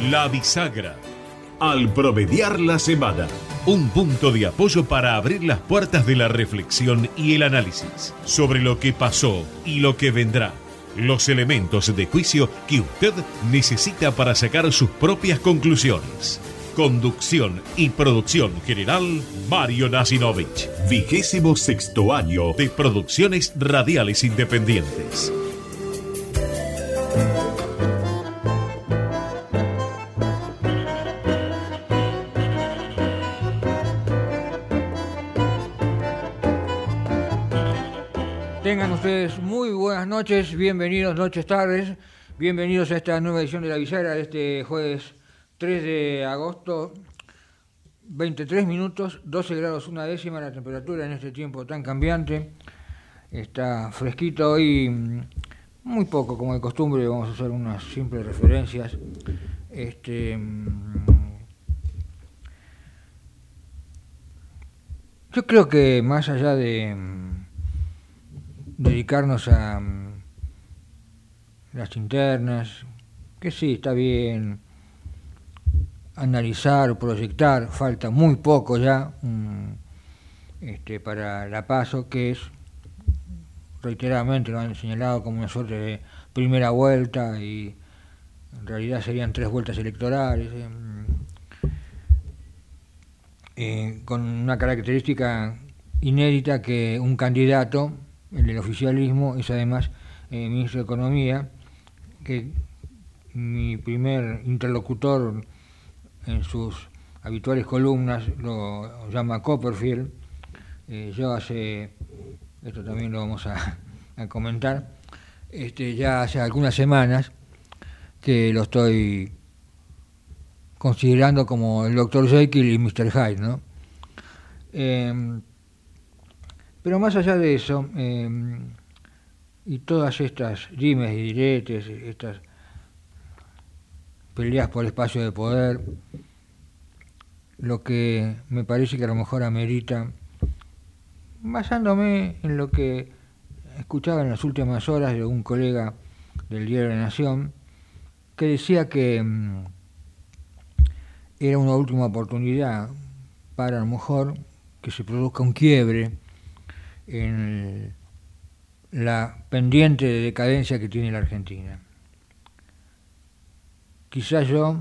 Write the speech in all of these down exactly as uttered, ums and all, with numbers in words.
La Bisagra. Al promediar la semana. Un punto de apoyo para abrir las puertas de la reflexión y el análisis sobre lo que pasó y lo que vendrá. Los elementos de juicio que usted necesita para sacar sus propias conclusiones. Conducción y producción general, Mario Nasinovich. Vigésimo sexto año de Producciones Radiales Independientes. Tengan ustedes muy buenas noches, bienvenidos, noches, tardes, bienvenidos a esta nueva edición de La Bisagra de este jueves tres de agosto, veintitrés minutos, doce grados una décima la temperatura en este tiempo tan cambiante. Está fresquito hoy, muy poco como de costumbre, vamos a hacer unas simples referencias. Este, yo creo que más allá de dedicarnos a las internas, que sí, está bien, analizar, proyectar, falta muy poco ya um, este, para la PASO, que es, reiteradamente lo han señalado como una suerte de primera vuelta y en realidad serían tres vueltas electorales, eh, eh, con una característica inédita que un candidato, el del oficialismo, es además eh, ministro de Economía, que mi primer interlocutor en sus habituales columnas lo llama Copperfield. Eh, yo hace, esto también lo vamos a, a comentar, este, ya hace algunas semanas que lo estoy considerando como el doctor Jekyll y mister Hyde, ¿no? Eh, Pero más allá de eso, eh, y todas estas dimes y diretes, estas peleas por espacio de poder, lo que me parece que a lo mejor amerita, basándome en lo que escuchaba en las últimas horas de un colega del Diario de la Nación, que decía que um, era una última oportunidad para a lo mejor que se produzca un quiebre en la pendiente de decadencia que tiene la Argentina. Quizás yo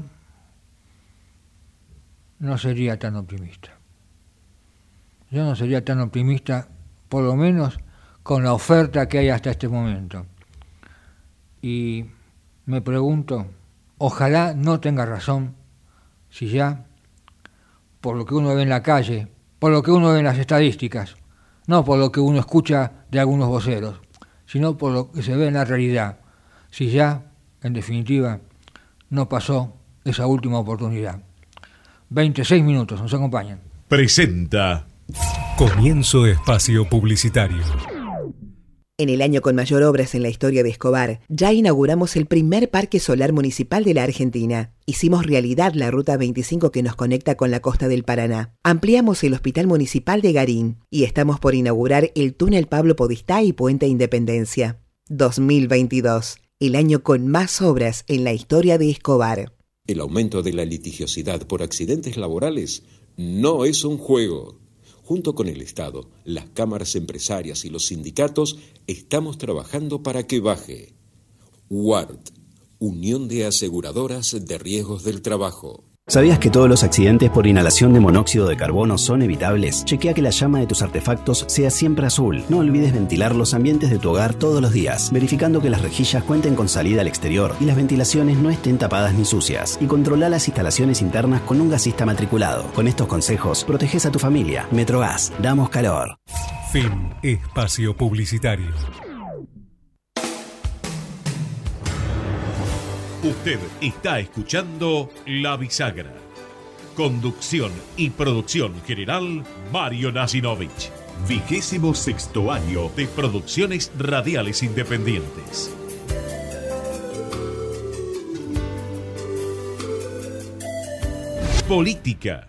no sería tan optimista. Yo no sería tan optimista, por lo menos con la oferta que hay hasta este momento. Y me pregunto, ojalá no tenga razón, si ya, por lo que uno ve en la calle, por lo que uno ve en las estadísticas, no por lo que uno escucha de algunos voceros, sino por lo que se ve en la realidad, si ya, en definitiva, no pasó esa última oportunidad. veintiséis minutos, nos acompañan. Presenta Comienzo espacio publicitario. En el año con mayor obras en la historia de Escobar, ya inauguramos el primer parque solar municipal de la Argentina. Hicimos realidad la Ruta veinticinco que nos conecta con la costa del Paraná. Ampliamos el Hospital Municipal de Garín y estamos por inaugurar el túnel Pablo Podestá y Puente Independencia. dos mil veintidós, el año con más obras en la historia de Escobar. El aumento de la litigiosidad por accidentes laborales no es un juego. Junto con el Estado, las cámaras empresarias y los sindicatos, estamos trabajando para que baje. U A R T, Unión de Aseguradoras de Riesgos del Trabajo. ¿Sabías que todos los accidentes por inhalación de monóxido de carbono son evitables? Chequea que la llama de tus artefactos sea siempre azul. No olvides ventilar los ambientes de tu hogar todos los días, verificando que las rejillas cuenten con salida al exterior y las ventilaciones no estén tapadas ni sucias. Y controla las instalaciones internas con un gasista matriculado. Con estos consejos, proteges a tu familia. Metrogas, damos calor. Fin espacio publicitario. Usted está escuchando La Bisagra. Conducción y producción general, Mario Nasinovich. Vigésimo sexto año de Producciones Radiales Independientes. Política.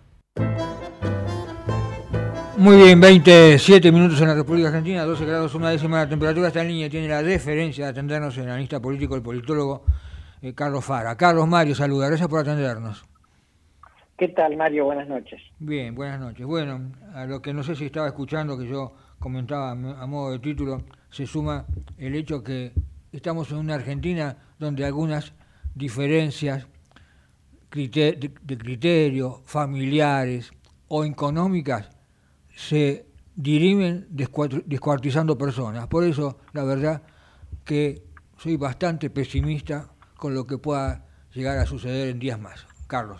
Muy bien, veintisiete minutos en la República Argentina, doce grados una décima la temperatura. Está en línea, tiene la deferencia de atendernos el analista político, el politólogo eh, Carlos Fara. Carlos, Mario, saluda, gracias por atendernos. ¿Qué tal, Mario? Buenas noches. Bien, buenas noches. Bueno, a lo que no sé si estaba escuchando, que yo comentaba a modo de título, se suma el hecho que estamos en una Argentina donde algunas diferencias de criterio, familiares o económicas se dirimen descuartizando personas. Por eso, la verdad que soy bastante pesimista con lo que pueda llegar a suceder en días más. Carlos.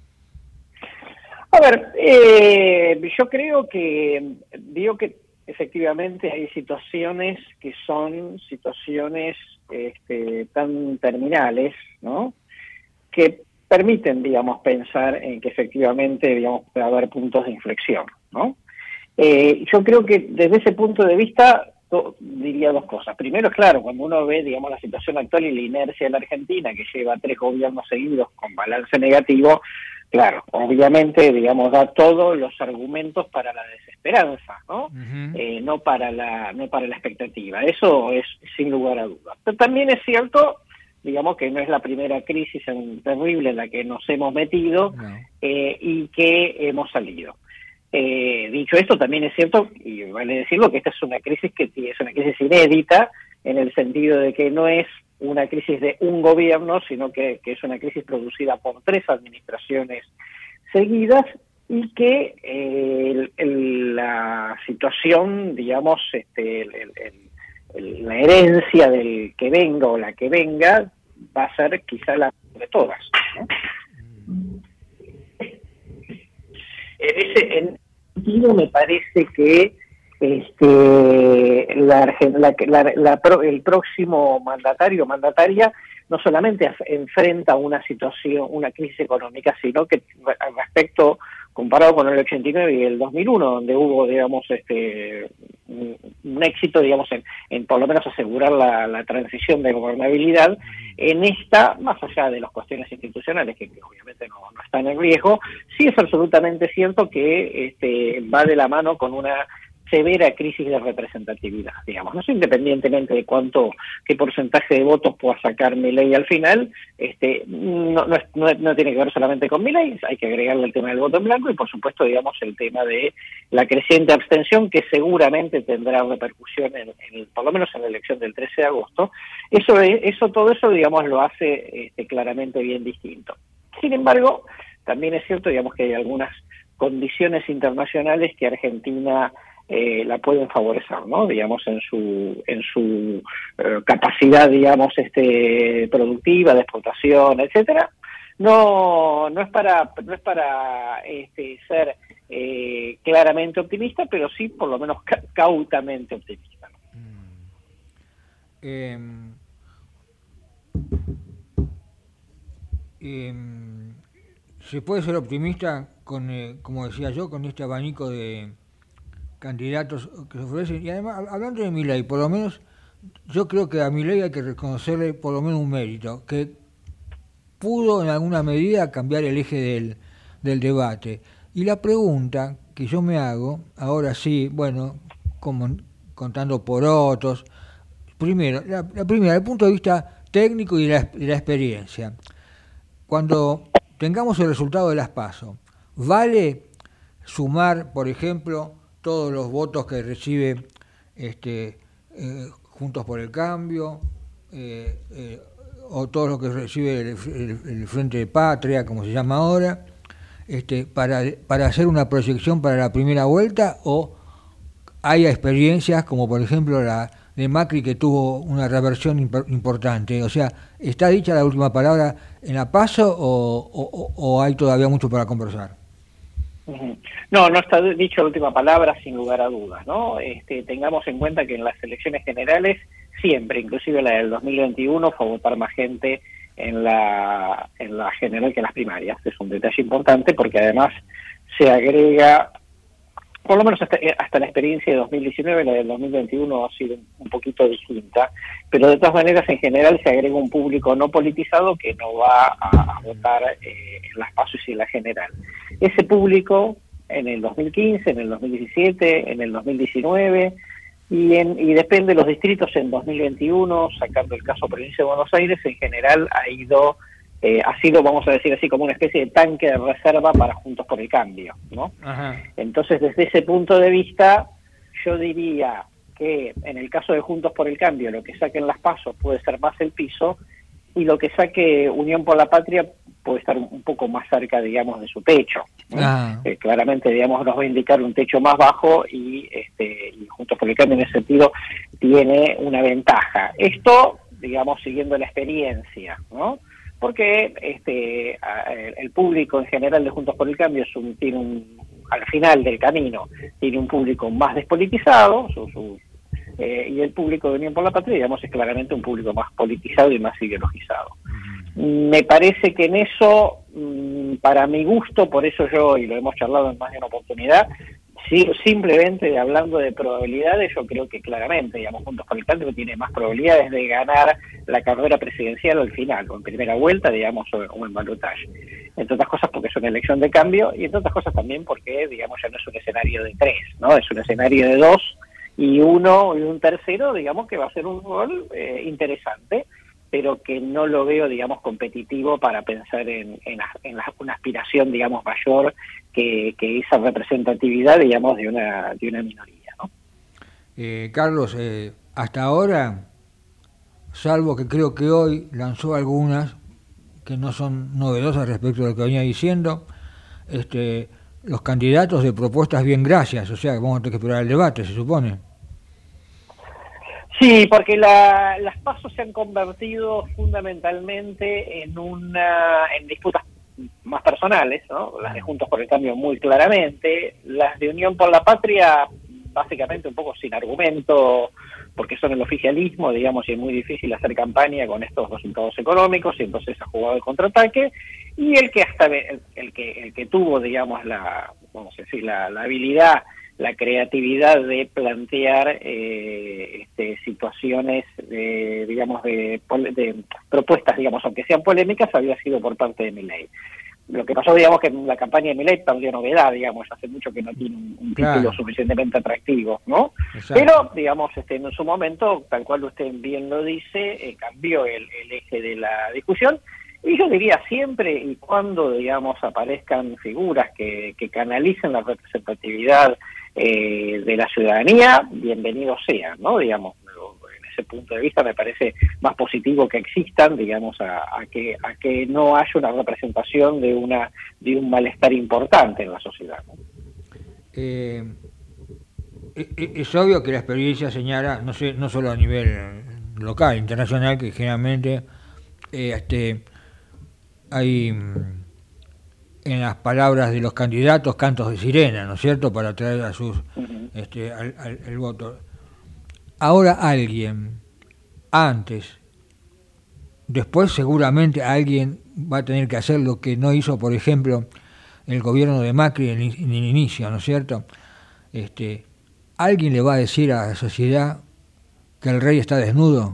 A ver, eh, yo creo que, digo que efectivamente hay situaciones que son situaciones este, tan terminales, ¿no?, que permiten, digamos, pensar en que efectivamente, digamos, puede haber puntos de inflexión, ¿no? Eh, yo creo que desde ese punto de vista to, diría dos cosas. Primero, es claro, cuando uno ve, digamos, la situación actual y la inercia de la Argentina, que lleva tres gobiernos seguidos con balance negativo, claro, obviamente, digamos, da todos los argumentos para la desesperanza, ¿no? Uh-huh. Eh, no para la no para la expectativa. Eso es sin lugar a dudas. Pero también es cierto, digamos, que no es la primera crisis en, terrible en la que nos hemos metido no. eh, y que hemos salido. Eh, dicho esto, también es cierto, y vale decirlo, que esta es una crisis que es una crisis inédita, en el sentido de que no es una crisis de un gobierno, sino que, que es una crisis producida por tres administraciones seguidas, y que eh, el, el, la situación, digamos, este, el, el, el, la herencia del que venga o la que venga va a ser quizá la de todas, ¿no? En ese en sentido me parece que este la, la, la, la el próximo mandatario o mandataria no solamente enfrenta una situación, una crisis económica, sino que respecto, comparado con el ochenta y nueve y el dos mil uno, donde hubo, digamos, este un, un éxito, digamos, en, en por lo menos asegurar la, la transición de gobernabilidad, en esta, más allá de las cuestiones institucionales, que, que obviamente no, no están en riesgo, sí es absolutamente cierto que este va de la mano con una severa crisis de representatividad, digamos, no sé, independientemente de cuánto, qué porcentaje de votos pueda sacar Milei al final, este, no, no, no, no tiene que ver solamente con Milei, hay que agregarle el tema del voto en blanco y por supuesto, digamos, el tema de la creciente abstención, que seguramente tendrá repercusión en, en por lo menos en la elección del trece de agosto. Eso, eso, todo eso, digamos, lo hace este, claramente bien distinto. Sin embargo, también es cierto, digamos, que hay algunas condiciones internacionales que Argentina Eh, la pueden favorecer, ¿no? Digamos, en su en su eh, capacidad, digamos, este productiva, de exportación, etcétera. No no es para no es para este ser eh, claramente optimista, pero sí por lo menos ca- cautamente optimista, ¿no? Mm. Eh, eh, se puede ser optimista con, eh, como decía yo, con este abanico de candidatos que se ofrecen, y además, hablando de Milei, por lo menos, yo creo que a Milei hay que reconocerle por lo menos un mérito, que pudo en alguna medida cambiar el eje del, del debate. Y la pregunta que yo me hago, ahora sí, bueno, como contando por otros, primero, la, la primera, el punto de vista técnico y de la, de la experiencia. Cuando tengamos el resultado de las PASO, ¿vale sumar, por ejemplo, todos los votos que recibe este eh, Juntos por el Cambio, eh, eh, o todo lo que recibe el, el, el Frente de Patria, como se llama ahora, este, para, para hacer una proyección para la primera vuelta, o hay experiencias como por ejemplo la de Macri, que tuvo una reversión imp- importante? O sea, ¿está dicha la última palabra en la PASO o, o, o hay todavía mucho para conversar? No, no está dicho la última palabra, sin lugar a dudas, ¿no? Este, tengamos en cuenta que en las elecciones generales siempre, inclusive la del dos mil veintiuno, fue a votar más gente en la en la general que en las primarias. Es un detalle importante porque además se agrega, por lo menos hasta, hasta la experiencia de dos mil diecinueve, la del dos mil veintiuno ha sido un poquito distinta, pero de todas maneras en general se agrega un público no politizado que no va a, a votar eh, en las PASO y en la general. Ese público en el dos mil quince, en el dos mil diecisiete, en el dos mil diecinueve, Y, en, y depende de los distritos en dos mil veintiuno, sacando el caso provincia de Buenos Aires, en general ha ido, eh, ha sido, vamos a decir así, como una especie de tanque de reserva para Juntos por el Cambio, ¿no? Ajá. Entonces, desde ese punto de vista, yo diría que en el caso de Juntos por el Cambio, lo que saquen las PASO puede ser más el piso, y lo que saque Unión por la Patria puede estar un poco más cerca, digamos, de su techo, ¿no? Ah. Eh, claramente, digamos, nos va a indicar un techo más bajo y, este, y Juntos por el Cambio en ese sentido tiene una ventaja. Esto, digamos, siguiendo la experiencia, ¿no? Porque este, el público en general de Juntos por el Cambio es un, tiene un, al final del camino, tiene un público más despolitizado, su, su, eh, y el público de Unión por la Patria, digamos, es claramente un público más politizado y más ideologizado. Me parece que en eso, para mi gusto, por eso yo, y lo hemos charlado en más de una oportunidad, si, simplemente hablando de probabilidades, yo creo que claramente, digamos, Juntos por el Cambio tiene más probabilidades de ganar la carrera presidencial al final, o en primera vuelta, digamos, o, o en balotaje. Entre otras cosas porque es una elección de cambio, y entre otras cosas también porque, digamos, ya no es un escenario de tres, ¿no? Es un escenario de dos, y uno y un tercero, digamos, que va a ser un rol eh, interesante, pero que no lo veo, digamos, competitivo para pensar en, en, en la, una aspiración, digamos, mayor que, que esa representatividad, digamos, de una de una minoría, ¿no? Eh, Carlos, eh, hasta ahora, salvo que creo que hoy lanzó algunas que no son novedosas respecto a lo que venía diciendo, este, los candidatos de propuestas bien gracias, o sea, que vamos a tener que esperar el debate, se supone. Sí, porque la, las PASO se han convertido fundamentalmente en una en disputas más personales, ¿no? Las de Juntos por el Cambio muy claramente, las de Unión por la Patria básicamente un poco sin argumento, porque son el oficialismo, digamos, y es muy difícil hacer campaña con estos resultados económicos, y entonces ha jugado el contraataque, y el que hasta el, el que el que tuvo, digamos, la vamos a decir la, la habilidad, la creatividad de plantear eh, este, situaciones, de, digamos, de, de propuestas, digamos, aunque sean polémicas, había sido por parte de Milei. Lo que pasó, digamos, que en la campaña de Milei perdió novedad, digamos, hace mucho que no tiene un, un claro. título suficientemente atractivo, ¿no? Exacto. Pero, digamos, este, en su momento, tal cual usted bien lo dice, eh, cambió el, el eje de la discusión. Y yo diría siempre y cuando, digamos, aparezcan figuras que, que canalicen la representatividad eh, de la ciudadanía, bienvenidos sean, ¿no? Digamos, en ese punto de vista me parece más positivo que existan, digamos, a, a que a que no haya una representación de una de un malestar importante en la sociedad, ¿no? Eh, es obvio que la experiencia señala, no sé, no solo a nivel local, internacional, que generalmente eh, este hay en las palabras de los candidatos cantos de sirena, ¿no es cierto?, para atraer a sus uh-huh. este al, al, al voto. Ahora alguien, antes, después seguramente alguien va a tener que hacer lo que no hizo, por ejemplo, el gobierno de Macri en, en el inicio, ¿no es cierto? Este, ¿alguien le va a decir a la sociedad que el rey está desnudo?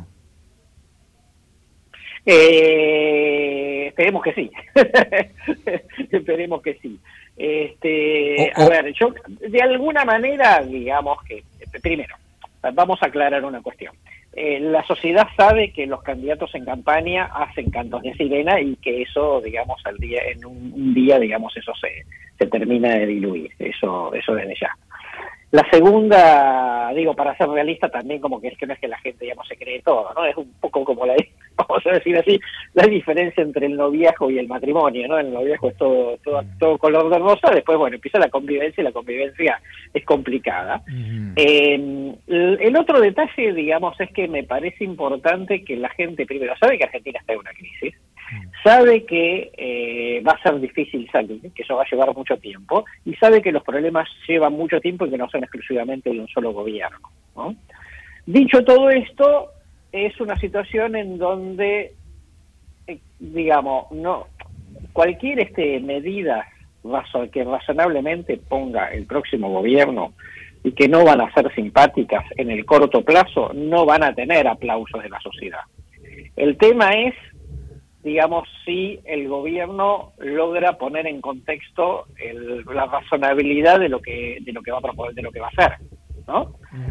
Eh, esperemos que sí. Esperemos que sí. Este, oh, oh. A ver, yo de alguna manera, digamos que, primero, vamos a aclarar una cuestión. Eh, la sociedad sabe que los candidatos en campaña hacen cantos de sirena y que eso, digamos, al día en un, un día, digamos, eso se, se termina de diluir. Eso, eso desde ya. La segunda, digo, para ser realista también, como que es que no es que la gente, digamos, se cree todo, ¿no? Es un poco como la, vamos a decir así, la diferencia entre el noviazgo y el matrimonio, ¿no? El noviazgo es todo, todo, todo color de rosa, después, bueno, empieza la convivencia y la convivencia es complicada. Uh-huh. Eh, el, el otro detalle, digamos, es que me parece importante que la gente primero sabe que Argentina está en una crisis, sabe que eh, va a ser difícil salir, que eso va a llevar mucho tiempo, y sabe que los problemas llevan mucho tiempo y que no son exclusivamente de un solo gobierno, ¿no? Dicho todo esto, es una situación en donde, eh, digamos, no cualquier este medida razo, que razonablemente ponga el próximo gobierno y que no van a ser simpáticas en el corto plazo, no van a tener aplausos de la sociedad. El tema es, digamos, si el gobierno logra poner en contexto el, la razonabilidad de lo que de lo que va a proponer, de lo que va a hacer, ¿no? Uh-huh.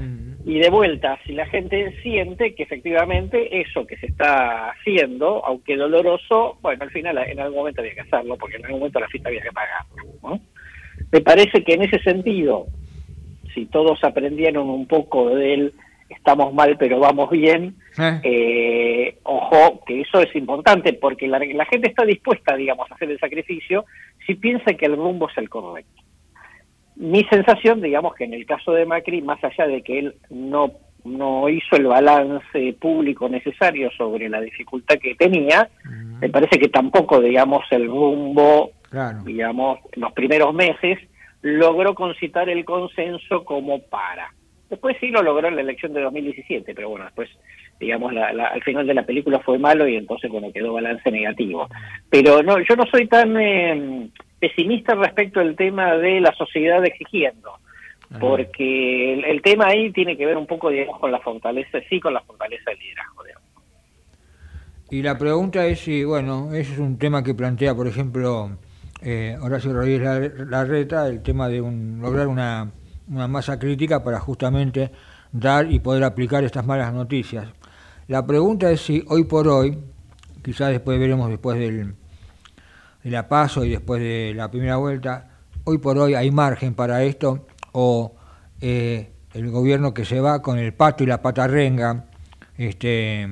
Y de vuelta, si la gente siente que efectivamente eso que se está haciendo, aunque doloroso, bueno, al final en algún momento había que hacerlo, porque en algún momento la fiesta había que pagarlo, ¿no? Me parece que en ese sentido, si todos aprendieron un poco del estamos mal pero vamos bien, ¿Eh? Eh, ojo, que eso es importante, porque la, la gente está dispuesta, digamos, a hacer el sacrificio si piensa que el rumbo es el correcto. Mi sensación, digamos, que en el caso de Macri, más allá de que él no no hizo el balance público necesario sobre la dificultad que tenía, uh-huh. me parece que tampoco, digamos, el rumbo, claro. digamos, en los primeros meses, logró concitar el consenso como para. Después sí lo logró en la elección de dos mil diecisiete, pero bueno, después, digamos, la, la, al final de la película fue malo y entonces, bueno, quedó balance negativo. Pero no, yo no soy tan... Eh, pesimista respecto al tema de la sociedad exigiendo, porque el, el tema ahí tiene que ver un poco, digamos, con la fortaleza, sí, con la fortaleza del liderazgo, digamos. Y la pregunta es si, bueno, ese es un tema que plantea, por ejemplo, eh, Horacio Rodríguez Larreta, el tema de un, lograr una, una masa crítica para justamente dar y poder aplicar estas malas noticias. La pregunta es si hoy por hoy, quizás después veremos después del de la PASO y después de la primera vuelta, hoy por hoy hay margen para esto, o eh, el gobierno que se va con el pato y la patarrenga este,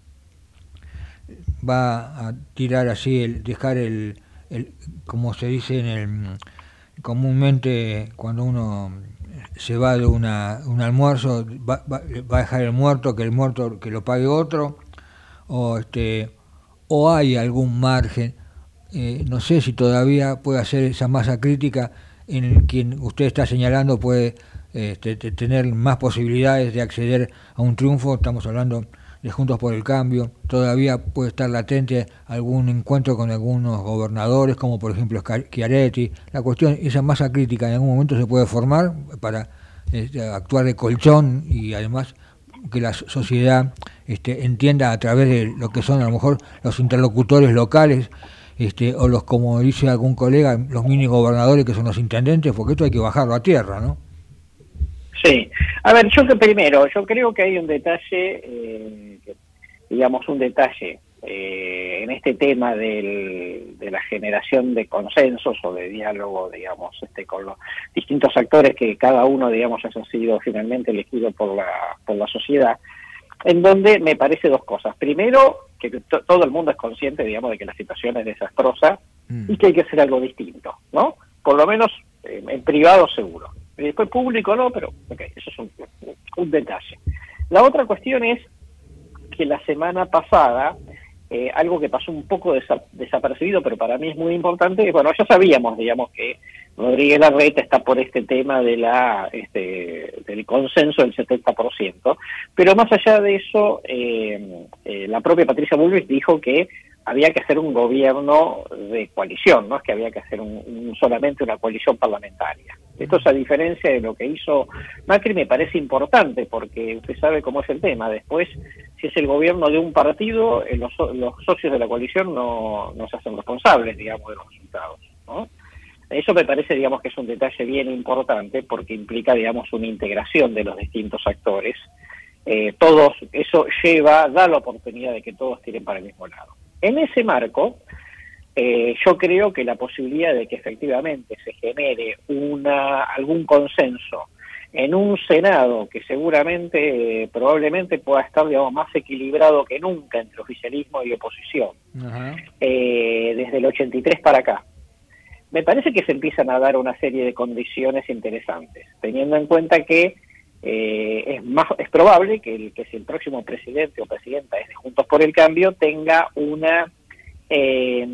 va a tirar así, el, dejar el, el, como se dice en el comúnmente cuando uno se va de una, un almuerzo, va, va, va a dejar el muerto, que el muerto que lo pague otro, o este, o hay algún margen. Eh, no sé si todavía puede hacer esa masa crítica en quien usted está señalando puede este, tener más posibilidades de acceder a un triunfo. Estamos hablando de Juntos por el Cambio. Todavía puede estar latente algún encuentro con algunos gobernadores, como por ejemplo Schiaretti. La cuestión, esa masa crítica en algún momento se puede formar para este, actuar de colchón y además que la sociedad este, entienda a través de lo que son a lo mejor los interlocutores locales, Este, o los, como dice algún colega, los mini gobernadores que son los intendentes, porque esto hay que bajarlo a tierra, ¿no? Sí. A ver, yo que primero, yo creo que hay un detalle, eh, digamos un detalle eh, en este tema del, de la generación de consensos o de diálogo, digamos, este con los distintos actores que cada uno, digamos, haya sido finalmente elegido por la, por la sociedad, en donde me parece dos cosas. Primero, que to- todo el mundo es consciente, digamos, de que la situación es desastrosa mm. y que hay que hacer algo distinto, ¿no? Por lo menos eh, en privado seguro. Y después público no, pero ok, eso es un, un detalle. La otra cuestión es que la semana pasada, eh, algo que pasó un poco desa- desapercibido, pero para mí es muy importante, bueno, ya sabíamos, digamos, que Rodríguez Larreta está por este tema de la este, del consenso del setenta por ciento, pero más allá de eso, eh, eh, la propia Patricia Bullrich dijo que había que hacer un gobierno de coalición, no es que había que hacer un, un, solamente una coalición parlamentaria. Esto es a diferencia de lo que hizo Macri, me parece importante, porque usted sabe cómo es el tema. Después, si es el gobierno de un partido, eh, los, los socios de la coalición no, no se hacen responsables, digamos, de los resultados, ¿no? Eso me parece, digamos, que es un detalle bien importante porque implica, digamos, una integración de los distintos actores. Eh, todos, eso lleva, da la oportunidad de que todos tiren para el mismo lado. En ese marco, eh, yo creo que la posibilidad de que efectivamente se genere una algún consenso en un Senado que seguramente, eh, probablemente pueda estar, digamos, más equilibrado que nunca entre oficialismo y oposición, uh-huh. eh, desde el ochenta y tres para acá. Me parece que se empiezan a dar una serie de condiciones interesantes, teniendo en cuenta que eh, es más es probable que el que si el próximo presidente o presidenta es de Juntos por el Cambio tenga una eh,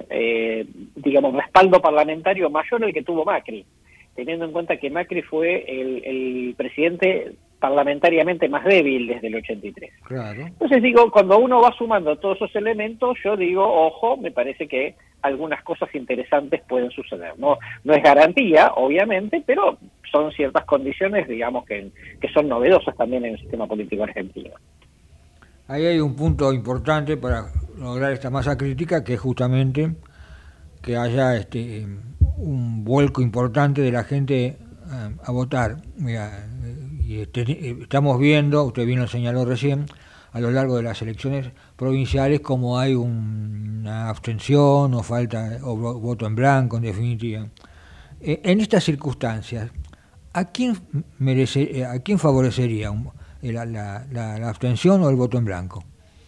eh, digamos respaldo parlamentario mayor al que tuvo Macri, teniendo en cuenta que Macri fue el, el presidente parlamentariamente más débil desde el ochenta y tres. Claro. Entonces digo, cuando uno va sumando todos esos elementos, yo digo, ojo, me parece que algunas cosas interesantes pueden suceder. No no es garantía, obviamente, pero son ciertas condiciones, digamos, que, que son novedosas también en el sistema político argentino. Ahí hay un punto importante para lograr esta masa crítica, que es justamente que haya este un vuelco importante de la gente a, a votar. Mira, y y este, estamos viendo, usted bien lo señaló recién, a lo largo de las elecciones provinciales como hay un, una abstención o falta o voto en blanco, en definitiva. Eh, en estas circunstancias, ¿a quién merece, a quién favorecería un, la, la, la, la abstención o el voto en blanco?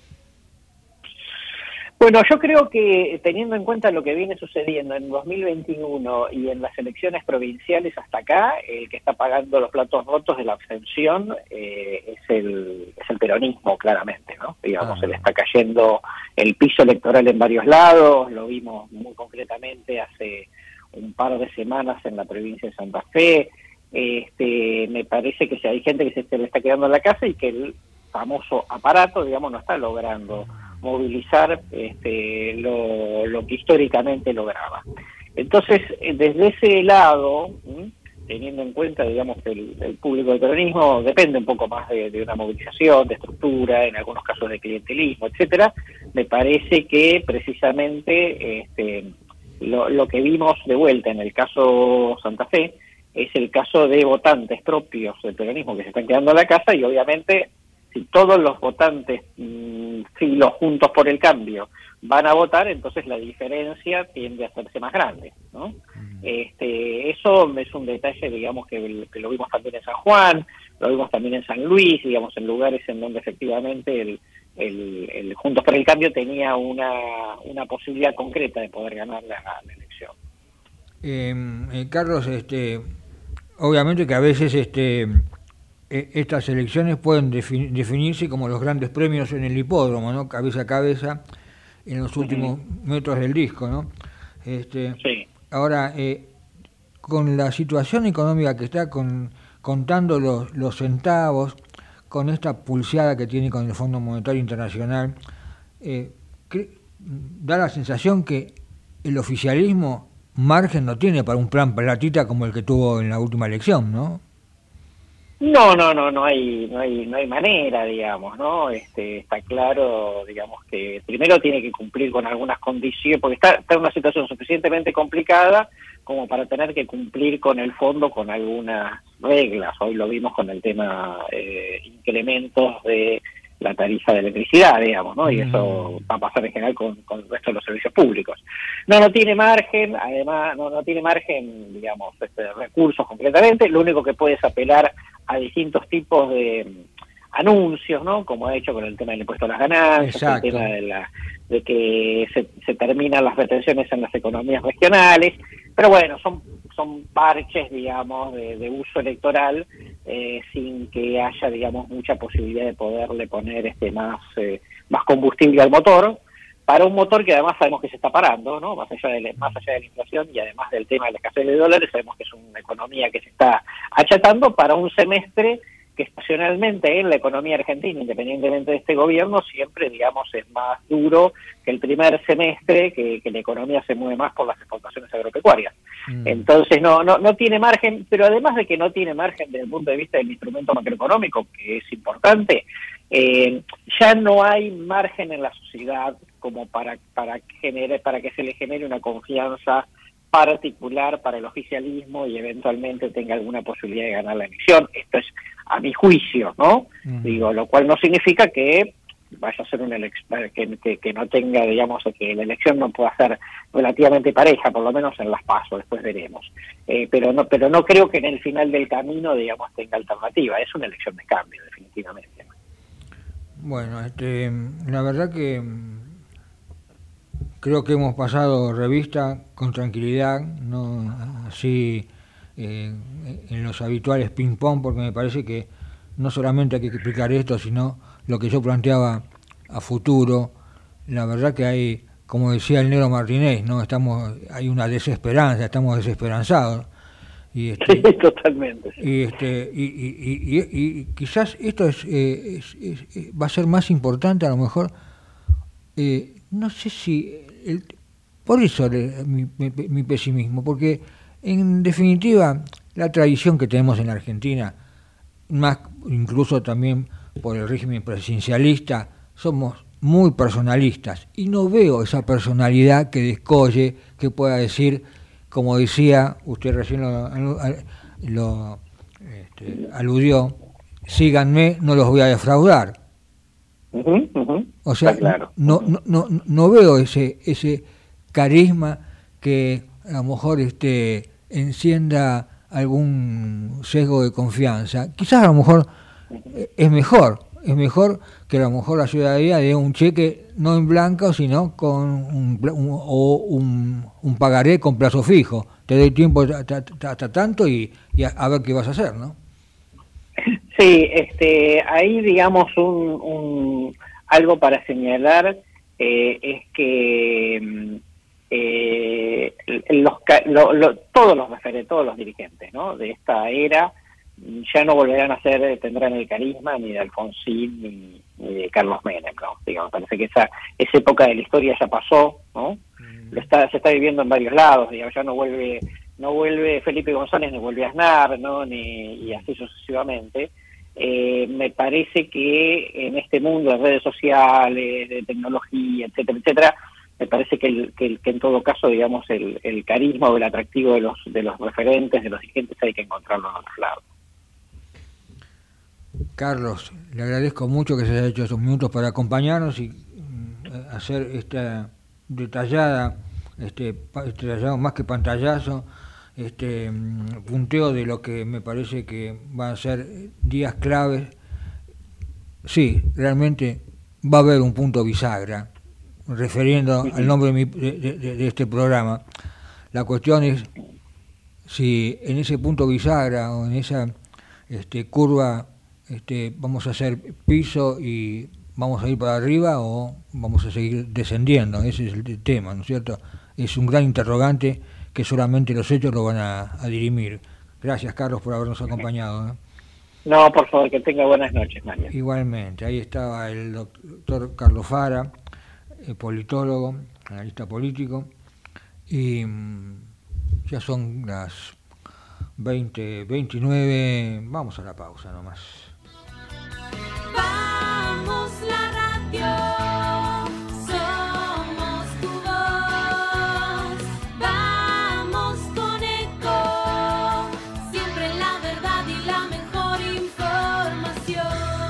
Bueno, yo creo que teniendo en cuenta lo que viene sucediendo en dos mil veintiuno y en las elecciones provinciales hasta acá, el que está pagando los platos rotos de la abstención eh, es el es el peronismo, claramente, ¿no? Digamos, ah. se le está cayendo el piso electoral en varios lados, lo vimos muy concretamente hace un par de semanas en la provincia de Santa Fe. Este, me parece que si hay gente que se, se le está quedando en la casa y que el famoso aparato, digamos, no está logrando movilizar este, lo, lo que históricamente lograba. Entonces, desde ese lado, ¿m? teniendo en cuenta, digamos, que el, el público del peronismo depende un poco más de, de una movilización, de estructura, en algunos casos de clientelismo, etcétera, me parece que precisamente este, lo, lo que vimos de vuelta en el caso Santa Fe es el caso de votantes propios del peronismo que se están quedando en la casa y obviamente si todos los votantes mmm, filos juntos por el cambio van a votar, entonces la diferencia tiende a hacerse más grande, ¿no? Mm. Este, eso es un detalle, digamos, que, que lo vimos también en San Juan, lo vimos también en San Luis, digamos, en lugares en donde efectivamente el, el, el Juntos por el Cambio tenía una, una posibilidad concreta de poder ganar la, la elección. Eh, eh, Carlos, este, obviamente que a veces este estas elecciones pueden defin- definirse como los grandes premios en el hipódromo, ¿no? Cabeza a cabeza en los últimos uh-huh. metros del disco, ¿no? Este, sí. Ahora, eh, con la situación económica que está, con, contando los, los centavos, con esta pulseada que tiene con el Fondo Monetario Internacional, eh, cre- da la sensación que el oficialismo margen no tiene para un plan platita como el que tuvo en la última elección, ¿no? No, no, no, no hay, no hay, no hay manera, digamos, ¿no? Este, está claro, digamos que primero tiene que cumplir con algunas condiciones, porque está, está en una situación suficientemente complicada como para tener que cumplir con el fondo con algunas reglas. Hoy lo vimos con el tema eh, incrementos de la tarifa de electricidad, digamos, ¿no? Y eso va a pasar en general con, con el resto de los servicios públicos. No, no tiene margen, además, no, no tiene margen, digamos, este, recursos completamente. Lo único que puede es apelar a distintos tipos de anuncios, ¿no? Como ha hecho con el tema del impuesto a las ganancias, Exacto. el tema de, la, de que se, se terminan las retenciones en las economías regionales. Pero bueno, son son parches, digamos, de, de uso electoral, eh, sin que haya, digamos, mucha posibilidad de poderle poner este más eh, más combustible al motor, para un motor que además sabemos que se está parando, ¿no? Más allá de, más allá de la inflación y además del tema de la escasez de dólares, sabemos que es una economía que se está achatando para un semestre que estacionalmente en la economía argentina, independientemente de este gobierno, siempre, digamos, es más duro que el primer semestre, que, que la economía se mueve más por las exportaciones agropecuarias. Mm. Entonces no, no, no tiene margen, pero además de que no tiene margen desde el punto de vista del instrumento macroeconómico, que es importante, eh, ya no hay margen en la sociedad como para, para, genere, para que se le genere una confianza particular para el oficialismo y eventualmente tenga alguna posibilidad de ganar la elección. Esto es a mi juicio, ¿no? Uh-huh. Digo, lo cual no significa que vaya a ser una elección, que, que, que no tenga, digamos, que la elección no pueda ser relativamente pareja, por lo menos en las PASO, después veremos. Eh, pero no pero no creo que en el final del camino, digamos, tenga alternativa. Es una elección de cambio, definitivamente. Bueno, este, la verdad que creo que hemos pasado revista con tranquilidad, no así eh, en los habituales ping-pong, porque me parece que no solamente hay que explicar esto, sino lo que yo planteaba a futuro. La verdad que hay, como decía el negro Martínez, no estamos, hay una desesperanza, estamos desesperanzados. Y este, sí, totalmente. Sí. Y, este, y, y, y, y, y quizás esto es, eh, es, es, es, va a ser más importante a lo mejor, eh, no sé si... El, por eso el, mi, mi, mi pesimismo, porque en definitiva la tradición que tenemos en la Argentina, más incluso también por el régimen presidencialista, somos muy personalistas y no veo esa personalidad que descolle, que pueda decir, como decía, usted recién lo, lo este, aludió, síganme, no los voy a defraudar. Uh-huh, uh-huh. O sea, claro. no, no, no, no veo ese, ese carisma que a lo mejor este, encienda algún sesgo de confianza. Quizás a lo mejor es mejor, es mejor que a lo mejor la ciudadanía dé un cheque no en blanco, sino con un, un, o un, un pagaré con plazo fijo. Te doy tiempo hasta, hasta tanto y, y a, a ver qué vas a hacer, ¿no? Sí, este, ahí digamos un, un algo para señalar eh, es que eh, los, lo, lo, todos los referentes, todos los dirigentes, ¿no?, de esta era ya no volverán a ser, tendrán el carisma ni de Alfonsín ni, ni de Carlos Menem, ¿no? Digamos, parece que esa esa época de la historia ya pasó, ¿no? Mm. Lo está se está viviendo en varios lados, digamos, ya no vuelve no vuelve Felipe González, no vuelve Aznar, ¿no?, ni y así sucesivamente. Eh, me parece que en este mundo de redes sociales, de tecnología, etcétera, etcétera, me parece que, el, que, el, que en todo caso, digamos, el, el carisma o el atractivo de los de los referentes, de los dirigentes, hay que encontrarlo en otros lados. Carlos, le agradezco mucho que se haya hecho esos minutos para acompañarnos y hacer esta detallada, este, detallado más que pantallazo, este punteo de lo que me parece que van a ser días claves. Sí, realmente va a haber un punto bisagra, refiriendo sí, sí. al nombre de, mi, de, de, de este programa. La cuestión es si en ese punto bisagra o en esa este, curva este, vamos a hacer piso y vamos a ir para arriba o vamos a seguir descendiendo. Ese es el tema, ¿no es cierto? Es un gran interrogante que solamente los hechos lo van a, a dirimir. Gracias, Carlos, por habernos acompañado, ¿eh? No, por favor, que tenga buenas noches, Mario. Igualmente, ahí estaba el doctor Carlos Fara, eh, politólogo, analista político, y mmm, ya son las veinte veintinueve, vamos a la pausa nomás. Vamos la radio, somos tu voz, vamos con Eco, siempre la verdad y la mejor información.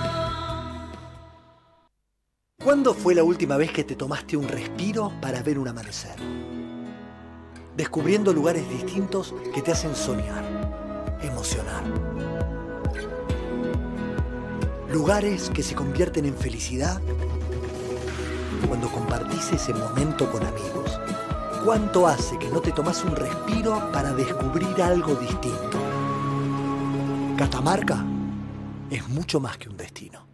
¿Cuándo fue la última vez que te tomaste un respiro para ver un amanecer? Descubriendo lugares distintos que te hacen soñar, emocionar. Lugares que se convierten en felicidad cuando compartís ese momento con amigos. ¿Cuánto hace que no te tomás un respiro para descubrir algo distinto? Catamarca es mucho más que un destino.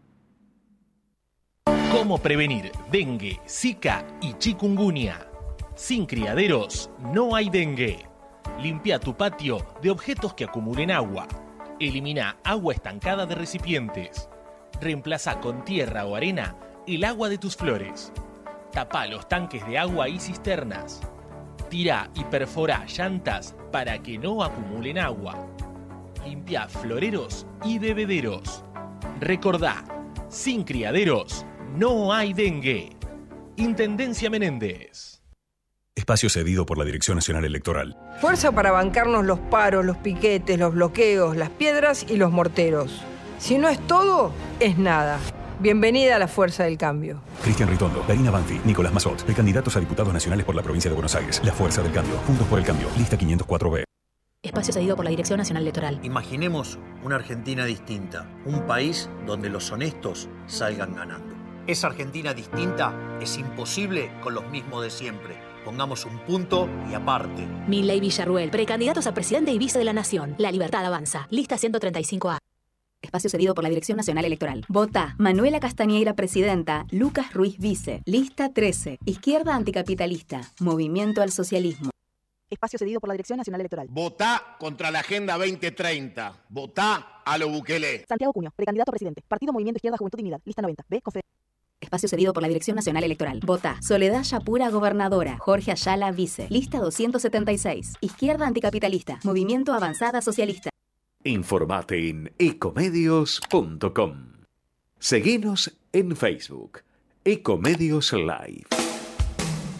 ¿Cómo prevenir dengue, zika y chikungunya? Sin criaderos no hay dengue. Limpia tu patio de objetos que acumulen agua. Elimina agua estancada de recipientes. Reemplaza con tierra o arena el agua de tus flores. Tapa los tanques de agua y cisternas. Tira y perfora llantas para que no acumulen agua. Limpia floreros y bebederos. Recordá, sin criaderos no hay dengue. Intendencia Menéndez. Espacio cedido por la Dirección Nacional Electoral. Fuerza para bancarnos los paros, los piquetes, los bloqueos, las piedras y los morteros. Si no es todo, es nada. Bienvenida a la Fuerza del Cambio. Cristian Ritondo, Karina Banfi, Nicolás Mazot, precandidatos a diputados nacionales por la provincia de Buenos Aires. La Fuerza del Cambio. Juntos por el Cambio. Lista quinientos cuatro B. Espacio cedido por la Dirección Nacional Electoral. Imaginemos una Argentina distinta. Un país donde los honestos salgan ganando. Esa Argentina distinta es imposible con los mismos de siempre. Pongamos un punto y aparte. Milei Villarruel, precandidatos a presidente y vice de la Nación. La Libertad avanza. Lista ciento treinta y cinco A. Espacio cedido por la Dirección Nacional Electoral. Vota Manuela Castañeira, presidenta. Lucas Ruiz, vice. Lista trece. Izquierda anticapitalista. Movimiento al socialismo. Espacio cedido por la Dirección Nacional Electoral. Votá contra la Agenda veinte treinta. Votá a lo Bukele. Santiago Cuño, precandidato a presidente. Partido Movimiento Izquierda Juventud Dignidad. Lista noventa. B. Confe. Espacio cedido por la Dirección Nacional Electoral. Vota Soledad Yapura, gobernadora. Jorge Ayala, vice. Lista doscientos setenta y seis. Izquierda anticapitalista. Movimiento Avanzada Socialista. Informate en ecomedios punto com. Seguinos en Facebook. Ecomedios Live.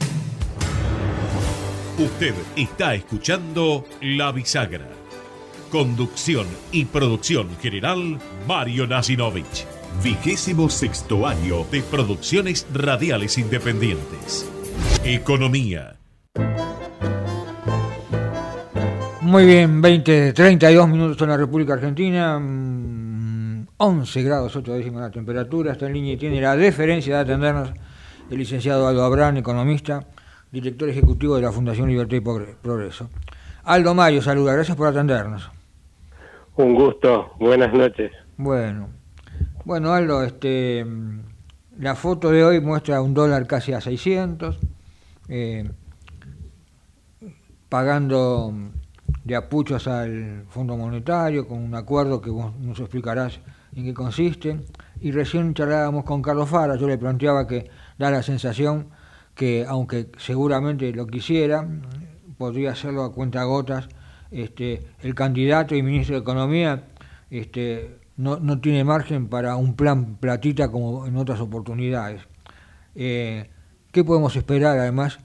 Usted está escuchando La Bisagra. Conducción y producción general, Mario Nasinovich. Vigésimo sexto año de Producciones Radiales Independientes. Economía. Muy bien, veinte, treinta y dos minutos en la República Argentina, once grados ocho décimas la temperatura, está en línea y tiene la deferencia de atendernos el licenciado Aldo Abrán, economista, director ejecutivo de la Fundación Libertad y Progreso. Aldo Mario, saluda, gracias por atendernos. Un gusto, buenas noches. Bueno, bueno Aldo, este, la foto de hoy muestra un dólar casi a seiscientos, eh, pagando de apuchos al Fondo Monetario con un acuerdo que vos nos explicarás en qué consiste. Y recién charlábamos con Carlos Fara, yo le planteaba que da la sensación que, aunque seguramente lo quisiera, podría hacerlo a cuentagotas. Este, el candidato y ministro de Economía este, no, no tiene margen para un plan platita como en otras oportunidades. Eh, ¿Qué podemos esperar? Además,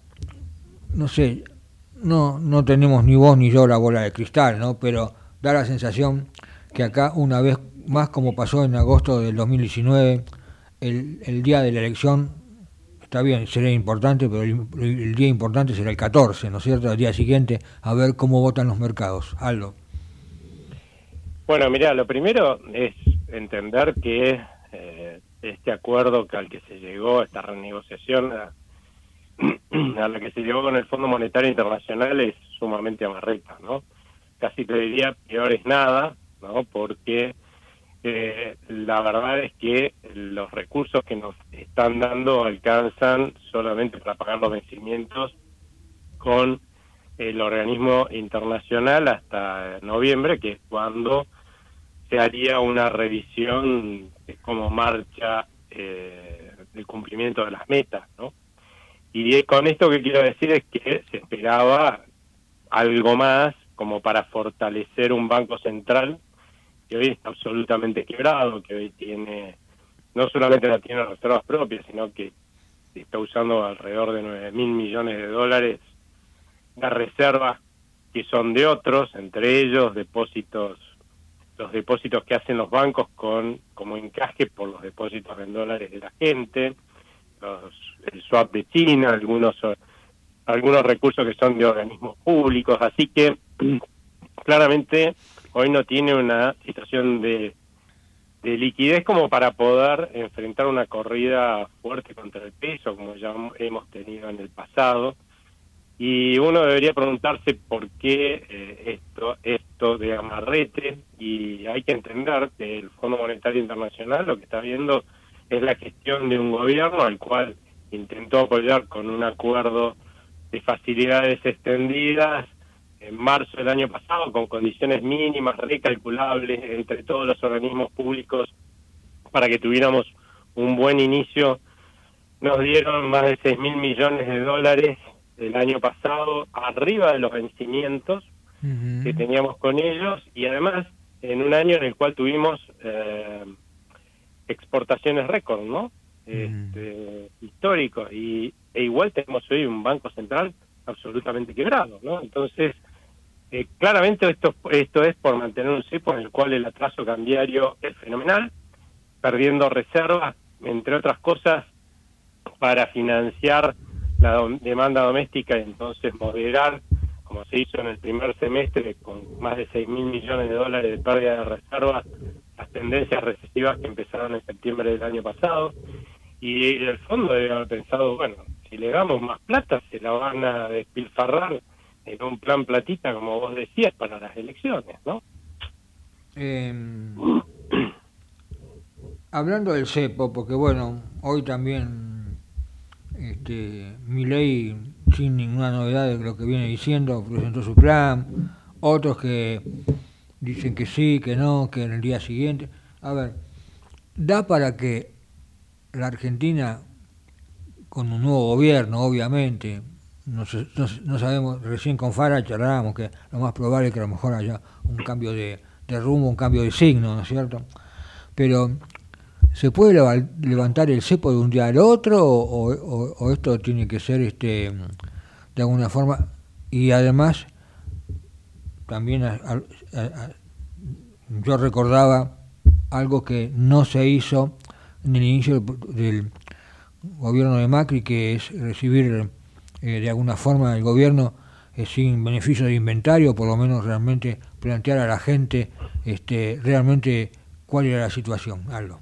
no sé, no, no tenemos ni vos ni yo la bola de cristal, ¿no? Pero da la sensación que acá, una vez más, como pasó en agosto del dos mil diecinueve, el, el día de la elección, está bien, será importante, pero el, el día importante será el catorce, ¿no es cierto? El día siguiente, a ver cómo votan los mercados. Aldo. Bueno, mirá, lo primero es entender que eh, este acuerdo al que se llegó, esta renegociación a, a la que se llegó con el Fondo Monetario Internacional es sumamente amarreta, ¿no? Casi te diría peor es nada, ¿no? Porque Eh, la verdad es que los recursos que nos están dando alcanzan solamente para pagar los vencimientos con el organismo internacional hasta noviembre, que es cuando se haría una revisión de cómo marcha eh, el cumplimiento de las metas, ¿no? Y con esto que quiero decir es que se esperaba algo más como para fortalecer un banco central que hoy está absolutamente quebrado, que hoy tiene, no solamente no tiene reservas propias, sino que está usando alrededor de nueve mil millones de dólares de reservas que son de otros, entre ellos depósitos, los depósitos que hacen los bancos con como encaje por los depósitos en dólares de la gente, los, el swap de China, algunos, algunos recursos que son de organismos públicos, así que claramente hoy no tiene una situación de, de liquidez como para poder enfrentar una corrida fuerte contra el peso, como ya hemos tenido en el pasado. Y uno debería preguntarse por qué eh, esto, esto de amarrete, y hay que entender que el Fondo Monetario Internacional lo que está viendo es la gestión de un gobierno al cual intentó apoyar con un acuerdo de facilidades extendidas en marzo del año pasado, con condiciones mínimas, recalculables entre todos los organismos públicos para que tuviéramos un buen inicio. Nos dieron más de seis mil millones de dólares el año pasado, arriba de los vencimientos uh-huh. que teníamos con ellos, y además en un año en el cual tuvimos eh, exportaciones récord, ¿no? Uh-huh. Este, históricos, y e igual tenemos hoy un banco central absolutamente quebrado, ¿no? Entonces, eh, claramente esto, esto es por mantener un cepo en el cual el atraso cambiario es fenomenal, perdiendo reservas, entre otras cosas, para financiar la do- demanda doméstica y entonces moderar, como se hizo en el primer semestre, con más de seis mil millones de dólares de pérdida de reservas, las tendencias recesivas que empezaron en septiembre del año pasado. Y el fondo debe haber pensado, bueno, si le damos más plata, se la van a despilfarrar en un plan platita, como vos decías, para las elecciones, ¿no? Eh, hablando del cepo, porque bueno, hoy también este, Milei, sin ninguna novedad de lo que viene diciendo, presentó su plan, otros que dicen que sí, que no, que en el día siguiente. A ver, da para que la Argentina, con un nuevo gobierno, obviamente, no, no, no sabemos, recién con Fara charlábamos que lo más probable es que a lo mejor haya un cambio de, de rumbo, un cambio de signo, ¿no es cierto? Pero, ¿se puede levantar el cepo de un día al otro o, o, o esto tiene que ser este de alguna forma? Y además, también a, a, a, yo recordaba algo que no se hizo en el inicio del, del gobierno de Macri, que es recibir eh, de alguna forma el gobierno eh, sin beneficio de inventario, por lo menos realmente plantear a la gente este, realmente cuál era la situación. Algo.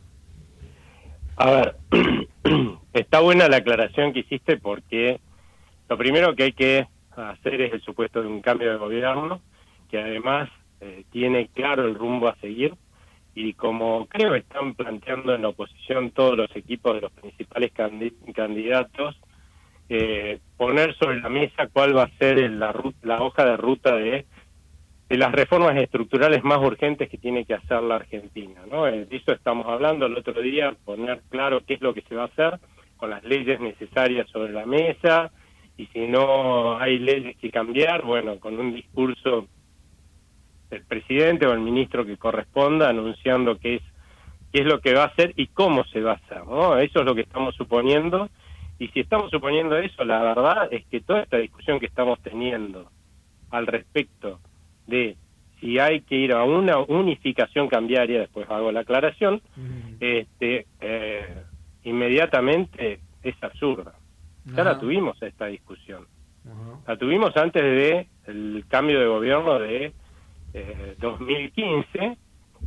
A ver, está buena la aclaración que hiciste, porque lo primero que hay que hacer es el supuesto de un cambio de gobierno, que además eh, tiene claro el rumbo a seguir, y como creo que están planteando en la oposición todos los equipos de los principales candi- candidatos, eh, poner sobre la mesa cuál va a ser el, la, la hoja de ruta de, de las reformas estructurales más urgentes que tiene que hacer la Argentina, ¿no? De eso estamos hablando el otro día, poner claro qué es lo que se va a hacer con las leyes necesarias sobre la mesa, y si no hay leyes que cambiar, bueno, con un discurso del presidente o el ministro que corresponda anunciando qué es qué es lo que va a hacer y cómo se va a hacer, ¿no? Eso es lo que estamos suponiendo, y si estamos suponiendo eso, la verdad es que toda esta discusión que estamos teniendo al respecto de si hay que ir a una unificación cambiaria, después hago la aclaración, mm. este eh, inmediatamente es absurda. Ya la tuvimos esta discusión. Uh-huh. La tuvimos antes de el cambio de gobierno de eh, dos mil quince,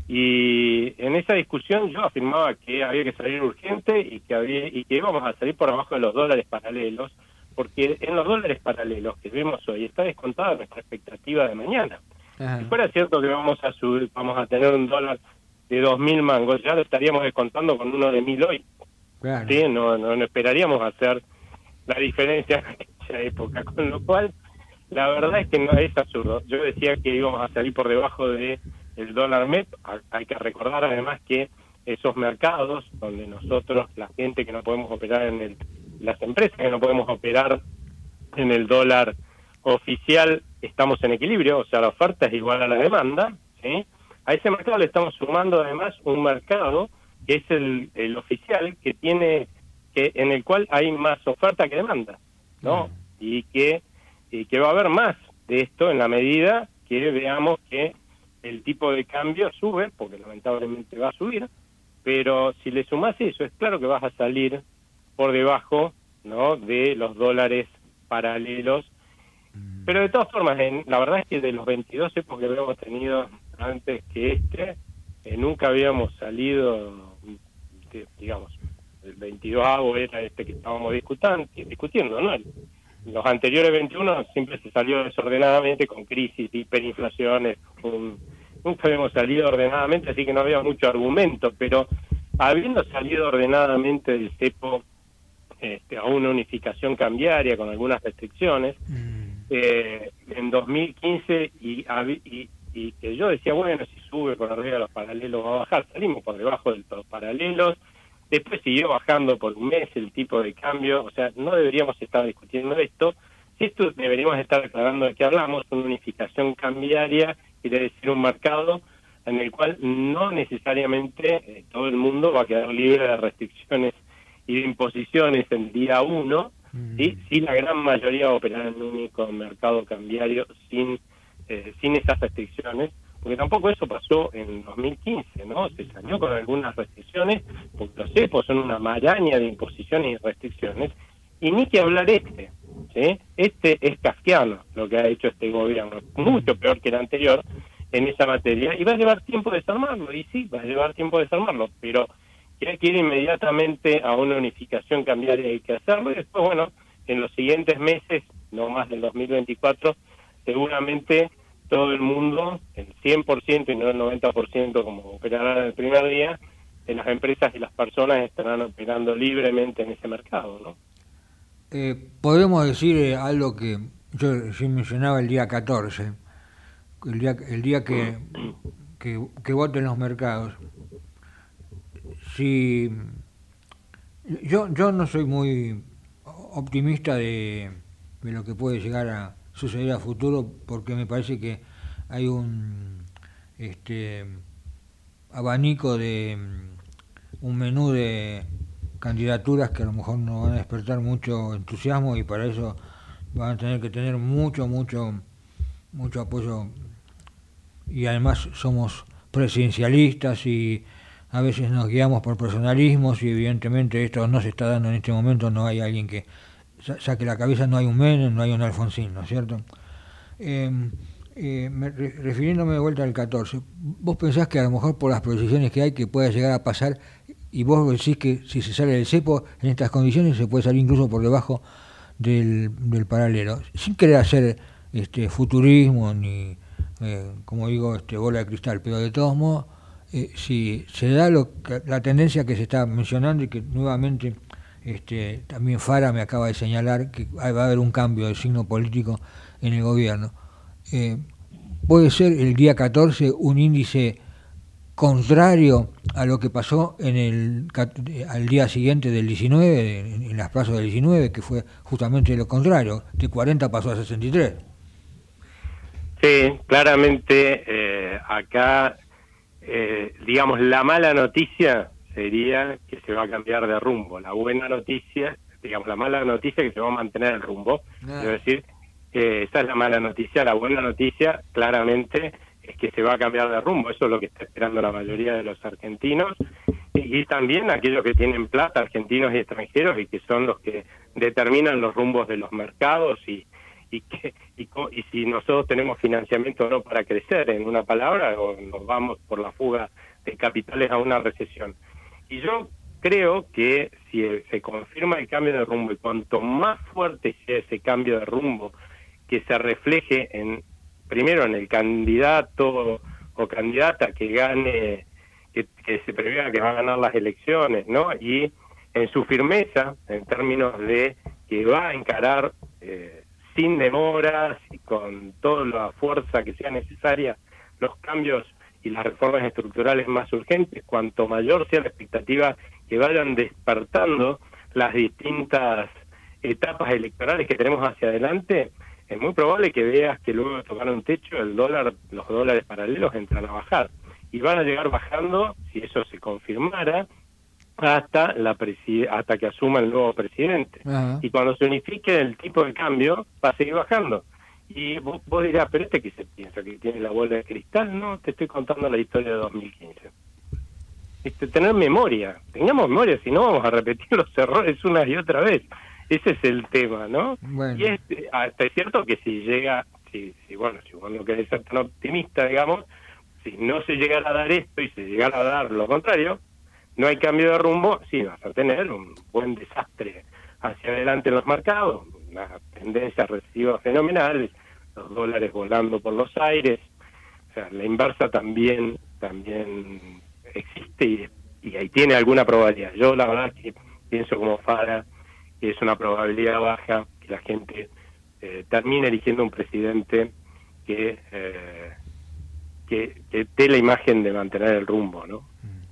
y en esa discusión yo afirmaba que había que salir urgente y que había y que íbamos a salir por abajo de los dólares paralelos, porque en los dólares paralelos que vemos hoy está descontada nuestra expectativa de mañana. Uh-huh. Si fuera cierto que vamos a subir, vamos a tener un dólar de dos mil mangos, ya lo estaríamos descontando con uno de mil hoy. Claro. ¿Sí? No, no, no esperaríamos hacer la diferencia en esa época, con lo cual la verdad es que no es absurdo. Yo decía que íbamos a salir por debajo de el dólar M E P. Hay que recordar además que esos mercados donde nosotros, la gente que no podemos operar en el, las empresas que no podemos operar en el dólar oficial, estamos en equilibrio, o sea, la oferta es igual a la demanda, ¿sí? A ese mercado le estamos sumando además un mercado que es el, el oficial, que tiene que en el cual hay más oferta que demanda, ¿no? Mm. Y que y que va a haber más de esto en la medida que veamos que el tipo de cambio sube, porque lamentablemente va a subir, pero si le sumás eso, es claro que vas a salir por debajo, ¿no?, de los dólares paralelos. Mm. Pero de todas formas, en, la verdad es que de los veintidós épocas que habíamos tenido antes que este, eh, nunca habíamos salido, de, digamos, el veintidós era este que estábamos discutando, discutiendo, ¿no? Los anteriores veintiuno siempre se salió desordenadamente con crisis, hiperinflaciones, un, nunca habíamos salido ordenadamente, así que no había mucho argumento, pero habiendo salido ordenadamente del cepo este, a una unificación cambiaria con algunas restricciones, mm. eh, en dos mil quince y, y, y que yo decía, bueno, si sube por arriba de los paralelos va a bajar, salimos por debajo de los paralelos. Después siguió bajando por un mes el tipo de cambio, o sea, no deberíamos estar discutiendo esto. Si esto deberíamos estar aclarando de qué hablamos, una unificación cambiaria, quiere decir un mercado en el cual no necesariamente eh, todo el mundo va a quedar libre de restricciones y de imposiciones el día uno, mm. ¿sí? Sí, la gran mayoría va a operar en un único mercado cambiario sin, eh, sin esas restricciones. Porque tampoco eso pasó en dos mil quince, ¿no? Se salió con algunas restricciones, porque los cepos son una maraña de imposiciones y restricciones, y ni que hablar este, ¿sí? Este es kafkiano lo que ha hecho este gobierno, mucho peor que el anterior en esa materia, y va a llevar tiempo desarmarlo, y sí, va a llevar tiempo desarmarlo, pero que hay que ir inmediatamente a una unificación cambiaria, hay que hacerlo, y después, bueno, en los siguientes meses, no más del dos mil veinticuatro, seguramente todo el mundo, el cien por ciento y no el noventa por ciento como operará el primer día, de las empresas y las personas estarán operando libremente en ese mercado, ¿no? Eh, podemos decir eh, algo que yo sí mencionaba el día catorce, el día, el día que, que, que voten los mercados. Si yo, yo no soy muy optimista de, de lo que puede llegar a suceder a futuro, porque me parece que hay un este abanico de un menú de candidaturas que a lo mejor no van a despertar mucho entusiasmo, y para eso van a tener que tener mucho mucho mucho apoyo y además somos presidencialistas y a veces nos guiamos por personalismos y evidentemente esto no se está dando en este momento, no hay alguien que saque la cabeza, no hay un Menem, no hay un Alfonsín, ¿no es cierto? Eh, eh, me, re, refiriéndome de vuelta al catorce, ¿vos pensás que a lo mejor por las proyecciones que hay que pueda llegar a pasar, y vos decís que si se sale del cepo en estas condiciones se puede salir incluso por debajo del, del paralelo, sin querer hacer este futurismo ni, eh, como digo, este bola de cristal, pero de todos modos, eh, si se da lo que, la tendencia que se está mencionando y que nuevamente este, también Fara me acaba de señalar que va a haber un cambio de signo político en el gobierno, eh, puede ser el día catorce un índice contrario a lo que pasó en el al día siguiente del diecinueve, en, en las plazas del diecinueve, que fue justamente lo contrario, de cuarenta pasó a sesenta y tres. Sí, claramente eh, acá, eh, digamos, la mala noticia sería que se va a cambiar de rumbo. La buena noticia, digamos, la mala noticia es que se va a mantener el rumbo. Ah. Es decir, eh, esa es la mala noticia. La buena noticia, claramente, es que se va a cambiar de rumbo. Eso es lo que está esperando la mayoría de los argentinos y, y también aquellos que tienen plata, argentinos y extranjeros, y que son los que determinan los rumbos de los mercados y y que y, y si nosotros tenemos financiamiento o no para crecer, en una palabra, o nos vamos por la fuga de capitales a una recesión. Y yo creo que si se confirma el cambio de rumbo, y cuanto más fuerte sea ese cambio de rumbo, que se refleje en primero en el candidato o candidata que gane, que, que se prevea que va a ganar las elecciones, ¿no? Y en su firmeza, en términos de que va a encarar eh, sin demoras y con toda la fuerza que sea necesaria los cambios y las reformas estructurales más urgentes, cuanto mayor sea la expectativa que vayan despertando las distintas etapas electorales que tenemos hacia adelante, es muy probable que veas que luego de tocar un techo el dólar, los dólares paralelos entran a bajar y van a llegar bajando, si eso se confirmara, hasta la preside- hasta que asuma el nuevo presidente. Ajá. Y cuando se unifique el tipo de cambio, va a seguir bajando. Y vos, vos dirás, pero este que se piensa que tiene la bola de cristal, no, te estoy contando la historia de dos mil quince. Este, tener memoria, tengamos memoria, si no vamos a repetir los errores una y otra vez. Ese es el tema, ¿no? Bueno. Y es, hasta es cierto que si llega, si, si bueno, si vos no querés ser tan optimista, digamos, si no se llegara a dar esto y se llegara a dar lo contrario, no hay cambio de rumbo, sí vas a tener un buen desastre hacia adelante en los mercados, una tendencia recesiva fenomenal, los dólares volando por los aires, o sea, la inversa también también existe y, y ahí tiene alguna probabilidad. Yo la verdad que pienso como Fara que es una probabilidad baja que la gente eh, termine eligiendo un presidente que, eh, que que dé la imagen de mantener el rumbo, ¿no?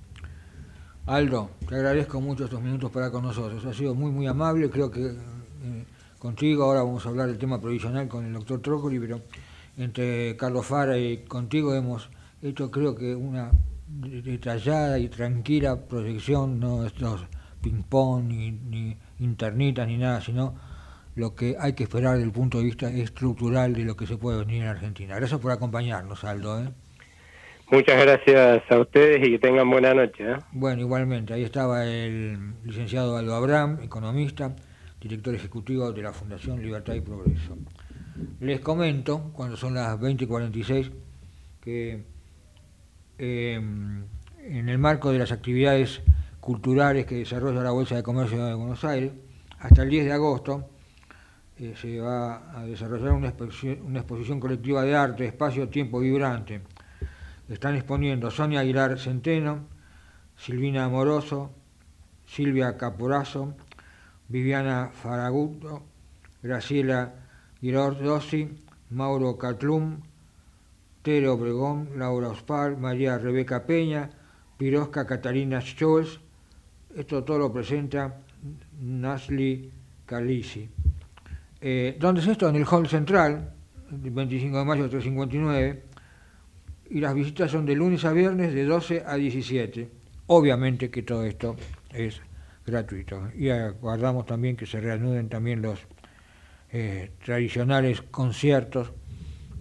Aldo, te agradezco mucho estos minutos para con nosotros. Ha sido muy, muy amable. Creo que eh, contigo, ahora vamos a hablar del tema provisional con el doctor Trócoli, pero entre Carlos Fara y contigo hemos hecho, creo que, una detallada y tranquila proyección, no estos ping-pong, ni, ni internitas, ni nada, sino lo que hay que esperar desde el punto de vista estructural de lo que se puede venir en Argentina. Gracias por acompañarnos, Aldo, ¿eh? Muchas gracias a ustedes y que tengan buena noche, ¿eh? Bueno, igualmente, ahí estaba el licenciado Aldo Abraham, economista, director ejecutivo de la Fundación Libertad y Progreso. Les comento, cuando son las veinte cuarenta y seis, que eh, en el marco de las actividades culturales que desarrolla la Bolsa de Comercio de Buenos Aires, hasta el diez de agosto eh, se va a desarrollar una exposición, una exposición colectiva de arte, espacio, tiempo vibrante. Están exponiendo Sonia Aguilar Centeno, Silvina Amoroso, Silvia Caporazo, Viviana Faraguto, Graciela Girardossi, Mauro Catlum, Tere Obregón, Laura Ospar, María Rebeca Peña, Pirosca Catalina Scholz. Esto todo lo presenta Nasli Calisi. Eh, ¿Dónde es esto? En el Hall Central, el veinticinco de mayo, trescientos cincuenta y nueve. Y las visitas son de lunes a viernes de doce a diecisiete. Obviamente que todo esto es gratuito. Y aguardamos también que se reanuden también los eh, tradicionales conciertos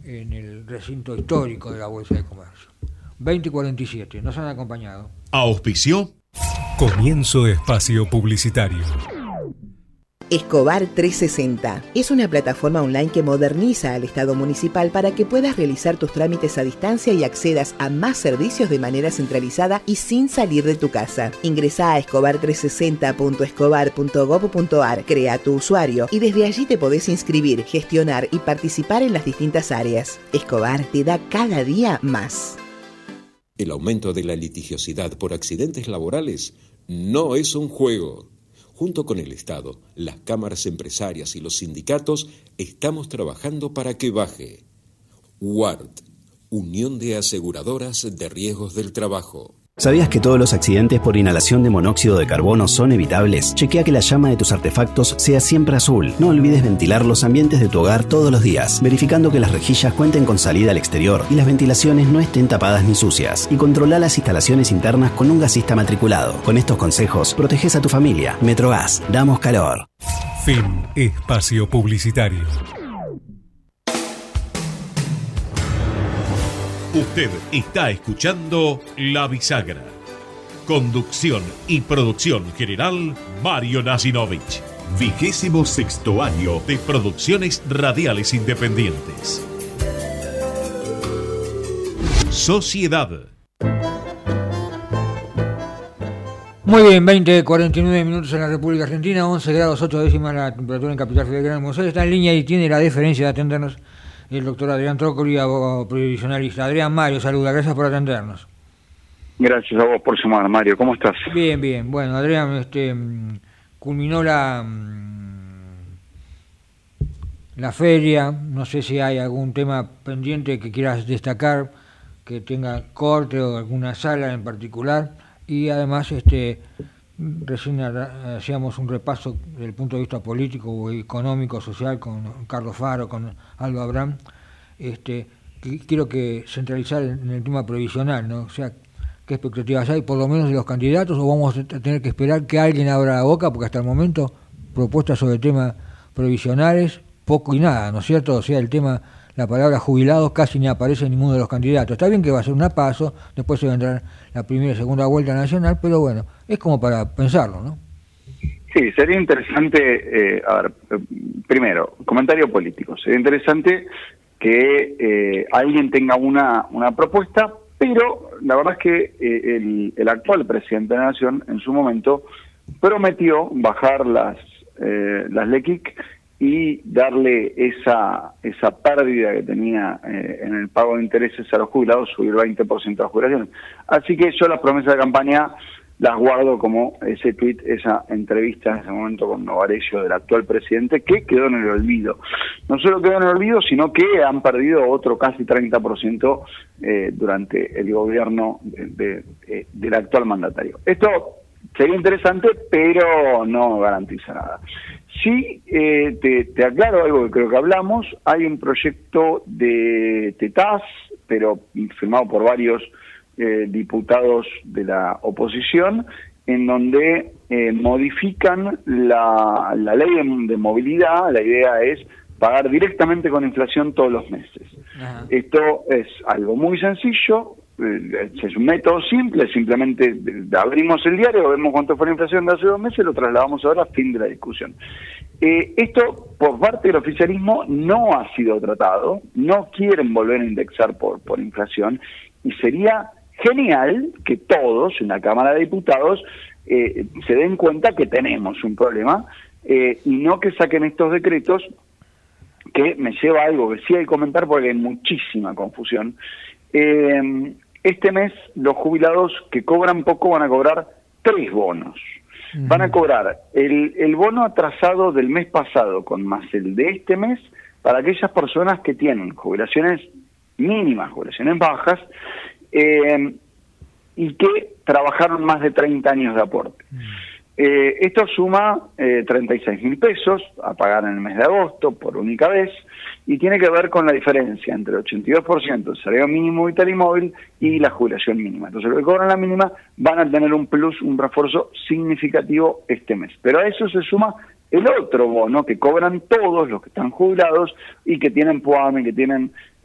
en el recinto histórico de la Bolsa de Comercio. veinte y cuarenta y siete, nos han acompañado. Auspició. Comienzo de espacio publicitario. Escobar trescientos sesenta es una plataforma online que moderniza al Estado municipal para que puedas realizar tus trámites a distancia y accedas a más servicios de manera centralizada y sin salir de tu casa. Ingresá a escobar trescientos sesenta punto escobar punto gob punto ar, crea tu usuario y desde allí te podés inscribir, gestionar y participar en las distintas áreas. Escobar te da cada día más. El aumento de la litigiosidad por accidentes laborales no es un juego. Junto con el Estado, las cámaras empresarias y los sindicatos estamos trabajando para que baje. U A R T, Unión de Aseguradoras de Riesgos del Trabajo. ¿Sabías que todos los accidentes por inhalación de monóxido de carbono son evitables? Chequea que la llama de tus artefactos sea siempre azul. No olvides ventilar los ambientes de tu hogar todos los días, verificando que las rejillas cuenten con salida al exterior y las ventilaciones no estén tapadas ni sucias. Y controla las instalaciones internas con un gasista matriculado. Con estos consejos, proteges a tu familia. Metrogas, damos calor. Fin espacio publicitario. Usted está escuchando La Bisagra. Conducción y producción general, Mario Nasinovich. Vigésimo sexto año de producciones radiales independientes. Sociedad. Muy bien, veinte, cuarenta y nueve minutos en la República Argentina, once grados ocho décimas la temperatura en Capital Federal de Buenos Aires. Está en línea y tiene la deferencia de atendernos el doctor Adrián Trócoli, abogado previsionalista. Adrián, Mario, saluda, gracias por atendernos. Gracias a vos por llamar, Mario, ¿cómo estás? Bien, bien. Bueno, Adrián, este, culminó la, la feria, no sé si hay algún tema pendiente que quieras destacar, que tenga corte o alguna sala en particular, y además este recién hacíamos un repaso desde el punto de vista político, económico, social con Carlos Faro, con Aldo Abraham. Este, quiero que centralizar en el tema previsional, ¿no? O sea, ¿qué expectativas hay, por lo menos de los candidatos, o vamos a tener que esperar que alguien abra la boca? Porque hasta el momento propuestas sobre temas previsionales, poco y nada, ¿no es cierto? O sea, el tema, la palabra jubilados casi ni aparece en ninguno de los candidatos. Está bien que va a ser una paso, después se vendrá la primera y segunda vuelta nacional, pero bueno, es como para pensarlo, ¿no? Sí, sería interesante, eh, a ver, eh, primero, comentario político, sería interesante que eh, alguien tenga una, una propuesta, pero la verdad es que eh, el, el actual presidente de la Nación en su momento prometió bajar las, eh, las L E C I C y darle esa esa pérdida que tenía eh, en el pago de intereses a los jubilados, subir veinte por ciento a las jubilaciones. Así que yo las promesas de campaña las guardo como ese tuit, esa entrevista en ese momento con Novarecio del actual presidente, que quedó en el olvido. No solo quedó en el olvido, sino que han perdido otro casi treinta por ciento eh, durante el gobierno de, de, de, del actual mandatario. Esto sería interesante, pero no garantiza nada. Sí, eh, te, te aclaro algo que creo que hablamos. Hay un proyecto de TETAS, pero firmado por varios eh, diputados de la oposición, en donde eh, modifican la, la ley de, de movilidad. La idea es pagar directamente con inflación todos los meses. Ajá. Esto es algo muy sencillo. Es un método simple, simplemente abrimos el diario, vemos cuánto fue la inflación de hace dos meses, lo trasladamos ahora, fin de la discusión. Eh, esto, por parte del oficialismo, no ha sido tratado, no quieren volver a indexar por, por inflación, y sería genial que todos en la Cámara de Diputados eh, se den cuenta que tenemos un problema, eh, y no que saquen estos decretos, que me lleva a algo que sí hay que comentar porque hay muchísima confusión. Eh, Este mes los jubilados que cobran poco van a cobrar tres bonos. Uh-huh. Van a cobrar el, el bono atrasado del mes pasado con más el de este mes para aquellas personas que tienen jubilaciones mínimas, jubilaciones bajas, eh, y que trabajaron más de treinta años de aporte. Uh-huh. Eh, esto suma eh, treinta y seis mil pesos a pagar en el mes de agosto por única vez, y tiene que ver con la diferencia entre el ochenta y dos por ciento del salario mínimo vital y móvil y la jubilación mínima. Entonces, los que cobran la mínima van a tener un plus, un refuerzo significativo este mes. Pero a eso se suma el otro bono que cobran todos los que están jubilados y que tienen PUAME, que tienen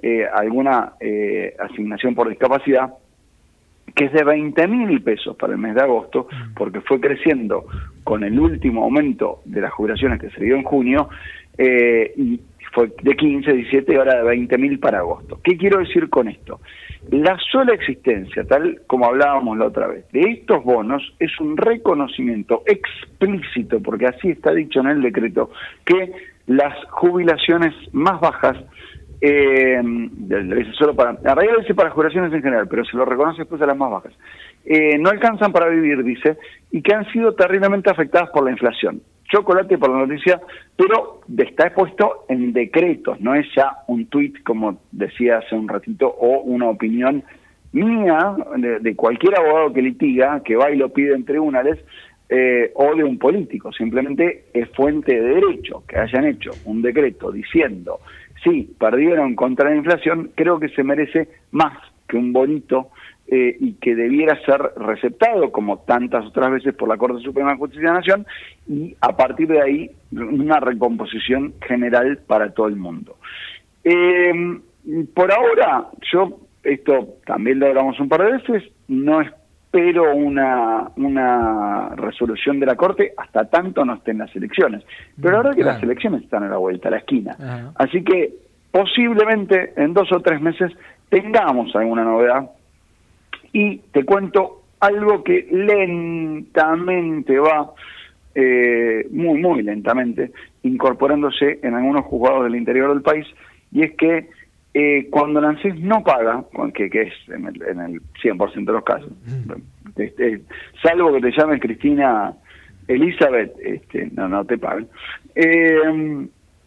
eh, alguna eh, asignación por discapacidad, que es de veinte mil pesos para el mes de agosto, porque fue creciendo con el último aumento de las jubilaciones que se dio en junio, eh, y fue de quince, diecisiete y ahora de veinte mil para agosto. ¿Qué quiero decir con esto? La sola existencia, tal como hablábamos la otra vez, de estos bonos es un reconocimiento explícito, porque así está dicho en el decreto, que las jubilaciones más bajas, eh, lo dice solo para, en realidad lo dice para jubilaciones en general, pero se lo reconoce después a las más bajas, eh, no alcanzan para vivir, dice, y que han sido terriblemente afectadas por la inflación. Chocolate por la noticia, pero está expuesto en decretos, no es ya un tuit, como decía hace un ratito, o una opinión mía, de, de cualquier abogado que litiga, que va y lo pide en tribunales, eh, o de un político. Simplemente es fuente de derecho que hayan hecho un decreto diciendo, sí, perdieron contra la inflación, creo que se merece más que un bonito, Eh, y que debiera ser receptado, como tantas otras veces, por la Corte Suprema de Justicia de la Nación, y a partir de ahí una recomposición general para todo el mundo. Eh, por ahora, yo, esto también lo hablamos un par de veces, no espero una, una resolución de la Corte hasta tanto no estén las elecciones. Pero la verdad que las elecciones están a la vuelta, a la esquina. Ajá. Así que posiblemente en dos o tres meses tengamos alguna novedad. Y te cuento algo que lentamente va, eh, muy, muy lentamente, incorporándose en algunos juzgados del interior del país, y es que eh, cuando el ANSES no paga, que, que es en el, en el cien por ciento de los casos, mm. este, salvo que te llames Cristina Elizabeth, este, no, no te pagan, eh,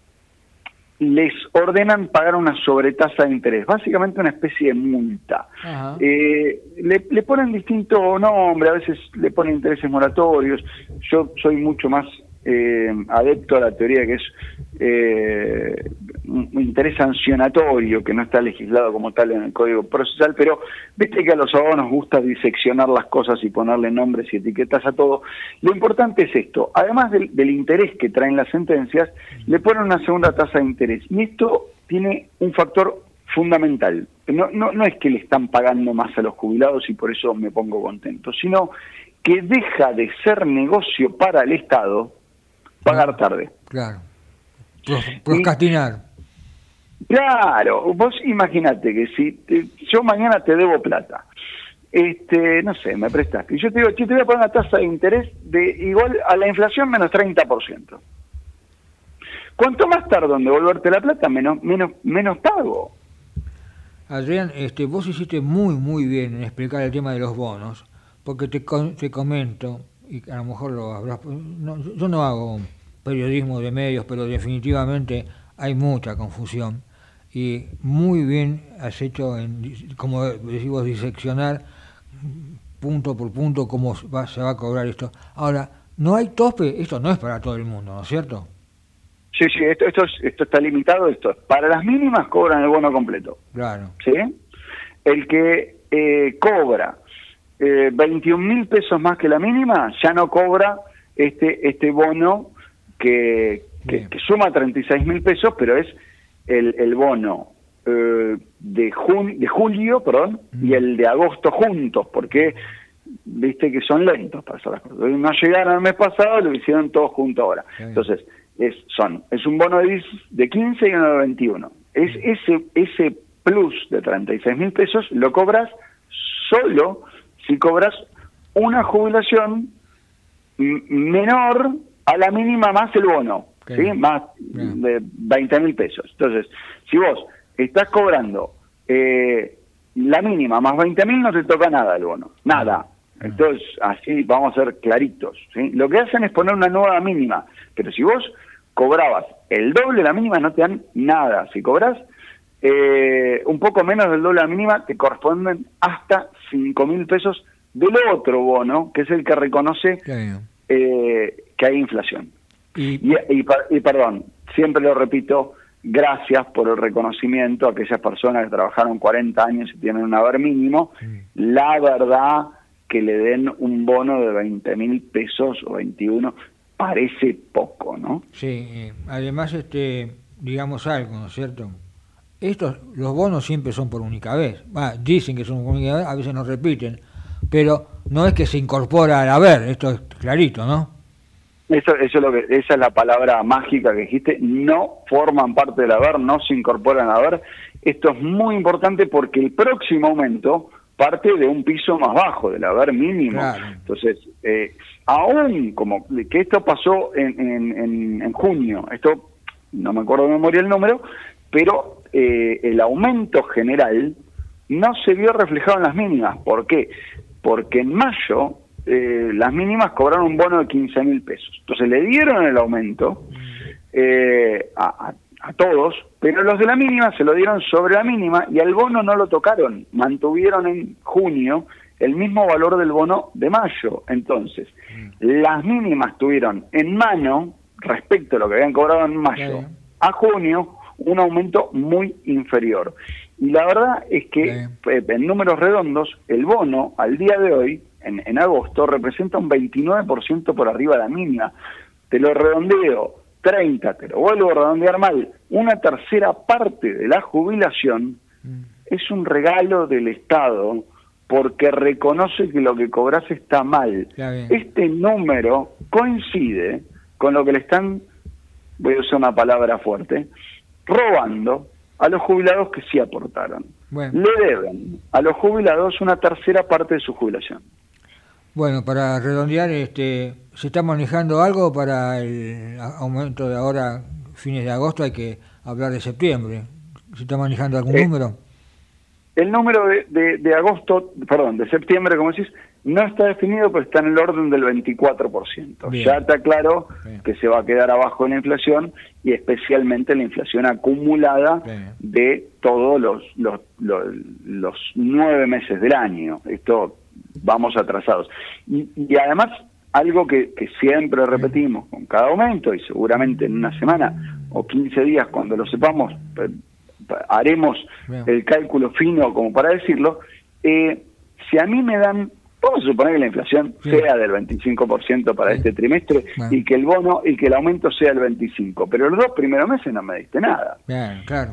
les ordenan pagar una sobretasa de interés, básicamente una especie de multa. Eh, le, le ponen distinto nombre, a veces le ponen intereses moratorios. Yo soy mucho más eh, adepto a la teoría que es eh, un interés sancionatorio, que no está legislado como tal en el Código Procesal, pero viste que a los abogados nos gusta diseccionar las cosas y ponerle nombres y etiquetas a todo. Lo importante es esto, además del, del interés que traen las sentencias, le ponen una segunda tasa de interés, y esto tiene un factor fundamental. No, no, no es que le están pagando más a los jubilados y por eso me pongo contento, sino que deja de ser negocio para el Estado pagar tarde. Claro. Procrastinar. Claro, vos imagínate que si te, yo mañana te debo plata, este, no sé, me prestaste, y yo te digo, che, te voy a poner una tasa de interés de igual a la inflación menos treinta por ciento. Cuanto más tardo en devolverte la plata, menos menos menos pago. Adrián, este, vos hiciste muy, muy bien en explicar el tema de los bonos, porque te, te comento, y a lo mejor lo habrás... No, yo no hago periodismo de medios, pero definitivamente hay mucha confusión, y muy bien has hecho, en, como decimos, diseccionar punto por punto cómo va, se va a cobrar esto. Ahora, no hay tope, esto no es para todo el mundo, ¿no es cierto? Sí, sí, esto, esto, es, esto está limitado, esto. Para las mínimas cobran el bono completo. Claro. ¿Sí? El que eh, cobra eh, veintiún mil pesos más que la mínima, ya no cobra este este bono que, que, que suma treinta y seis mil pesos, pero es el, el bono eh, de, jun, de julio, perdón, mm. y el de agosto juntos, porque viste que son lentos para hacer las cosas. No llegaron el mes pasado, lo hicieron todos juntos ahora. Sí. Entonces, es son es un bono de, de quince y uno de veintiuno. Es ese ese plus de treinta y seis mil pesos lo cobras solo si cobras una jubilación menor a la mínima más el bono, ¿sí? ¿sí? Más yeah. de veinte mil pesos. Entonces, si vos estás cobrando eh, la mínima más veinte mil, no te toca nada el bono, nada. Entonces, así vamos a ser claritos, ¿sí? Lo que hacen es poner una nueva mínima, pero si vos cobrabas el doble de la mínima, no te dan nada. Si cobras eh, un poco menos del doble de la mínima, te corresponden hasta cinco mil pesos del otro bono, que es el que reconoce eh, que hay inflación. Y, y, y, y perdón, siempre lo repito, gracias por el reconocimiento a aquellas personas que trabajaron cuarenta años y tienen un haber mínimo. Sí. La verdad que le den un bono de veinte mil pesos o veintiuno parece poco, ¿no? Sí, además, este, digamos algo, ¿no es cierto? estos, los bonos siempre son por única vez. Ah, dicen que son por única vez, a veces no repiten, pero no es que se incorpora al haber, esto es clarito, ¿no? Eso, eso es lo que, esa es la palabra mágica que dijiste, no forman parte del haber, no se incorporan al haber. Esto es muy importante porque el próximo aumento parte de un piso más bajo, del haber mínimo. Claro. Entonces, eh, aún como que esto pasó en, en, en, en junio, esto no me acuerdo de memoria el número, pero eh, el aumento general no se vio reflejado en las mínimas. ¿Por qué? Porque en mayo eh, las mínimas cobraron un bono de quince mil pesos. Entonces le dieron el aumento eh, a, a, a todos, pero los de la mínima se lo dieron sobre la mínima y al bono no lo tocaron. Mantuvieron en junio el mismo valor del bono de mayo. Entonces, las mínimas tuvieron en mano, respecto a lo que habían cobrado en mayo, sí, a junio, un aumento muy inferior. Y la verdad es que, sí, en números redondos, el bono al día de hoy, en, en agosto, representa un veintinueve por ciento por arriba de la mínima. Te lo redondeo, treinta, te lo vuelvo a redondear mal, una tercera parte de la jubilación mm. es un regalo del Estado porque reconoce que lo que cobras está mal. Este número coincide con lo que le están, voy a usar una palabra fuerte, robando a los jubilados que sí aportaron. Bueno. Le deben a los jubilados una tercera parte de su jubilación. Bueno, para redondear, este, ¿se está manejando algo para el aumento de ahora, fines de agosto? Hay que hablar de septiembre. ¿Se está manejando algún eh, número? El número de, de, de agosto, perdón, de septiembre, como decís, no está definido, pero está en el orden del veinticuatro por ciento. Bien. Ya está claro Bien. que se va a quedar abajo en la inflación y especialmente la inflación acumulada Bien. de todos los, los, los, los nueve meses del año. Esto vamos atrasados. Y, y además, algo que, que siempre repetimos con cada aumento, y seguramente en una semana o quince días, cuando lo sepamos, haremos Bien. el cálculo fino como para decirlo, eh, si a mí me dan, vamos a suponer que la inflación sí. sea del veinticinco por ciento para sí. este trimestre bueno. y que el bono y que el aumento sea del veinticinco por ciento, pero los dos primeros meses no me diste nada. Bien, claro.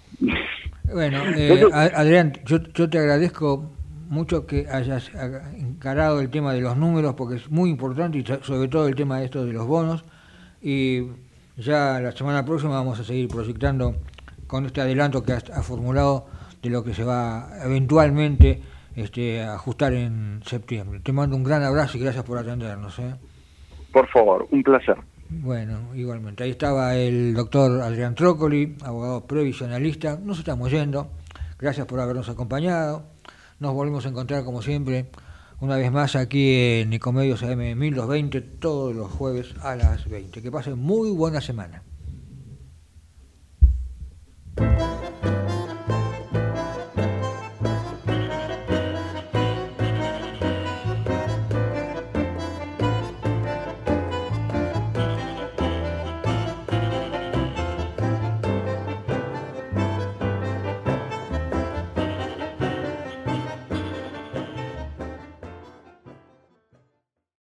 Bueno, eh, Adrián, yo, yo te agradezco mucho que hayas encarado el tema de los números porque es muy importante y sobre todo el tema de esto de los bonos, y ya la semana próxima vamos a seguir proyectando con este adelanto que has, has formulado de lo que se va eventualmente este, a ajustar en septiembre. Te mando un gran abrazo y gracias por atendernos. ¿eh? Por favor, un placer. Bueno, igualmente. Ahí estaba el doctor Adrián Trócoli, abogado previsionalista. Nos estamos yendo. Gracias por habernos acompañado. Nos volvemos a encontrar como siempre, una vez más aquí en Ecomedios A M mil doscientos veinte, todos los jueves a las veinte. Que pasen muy buena semana.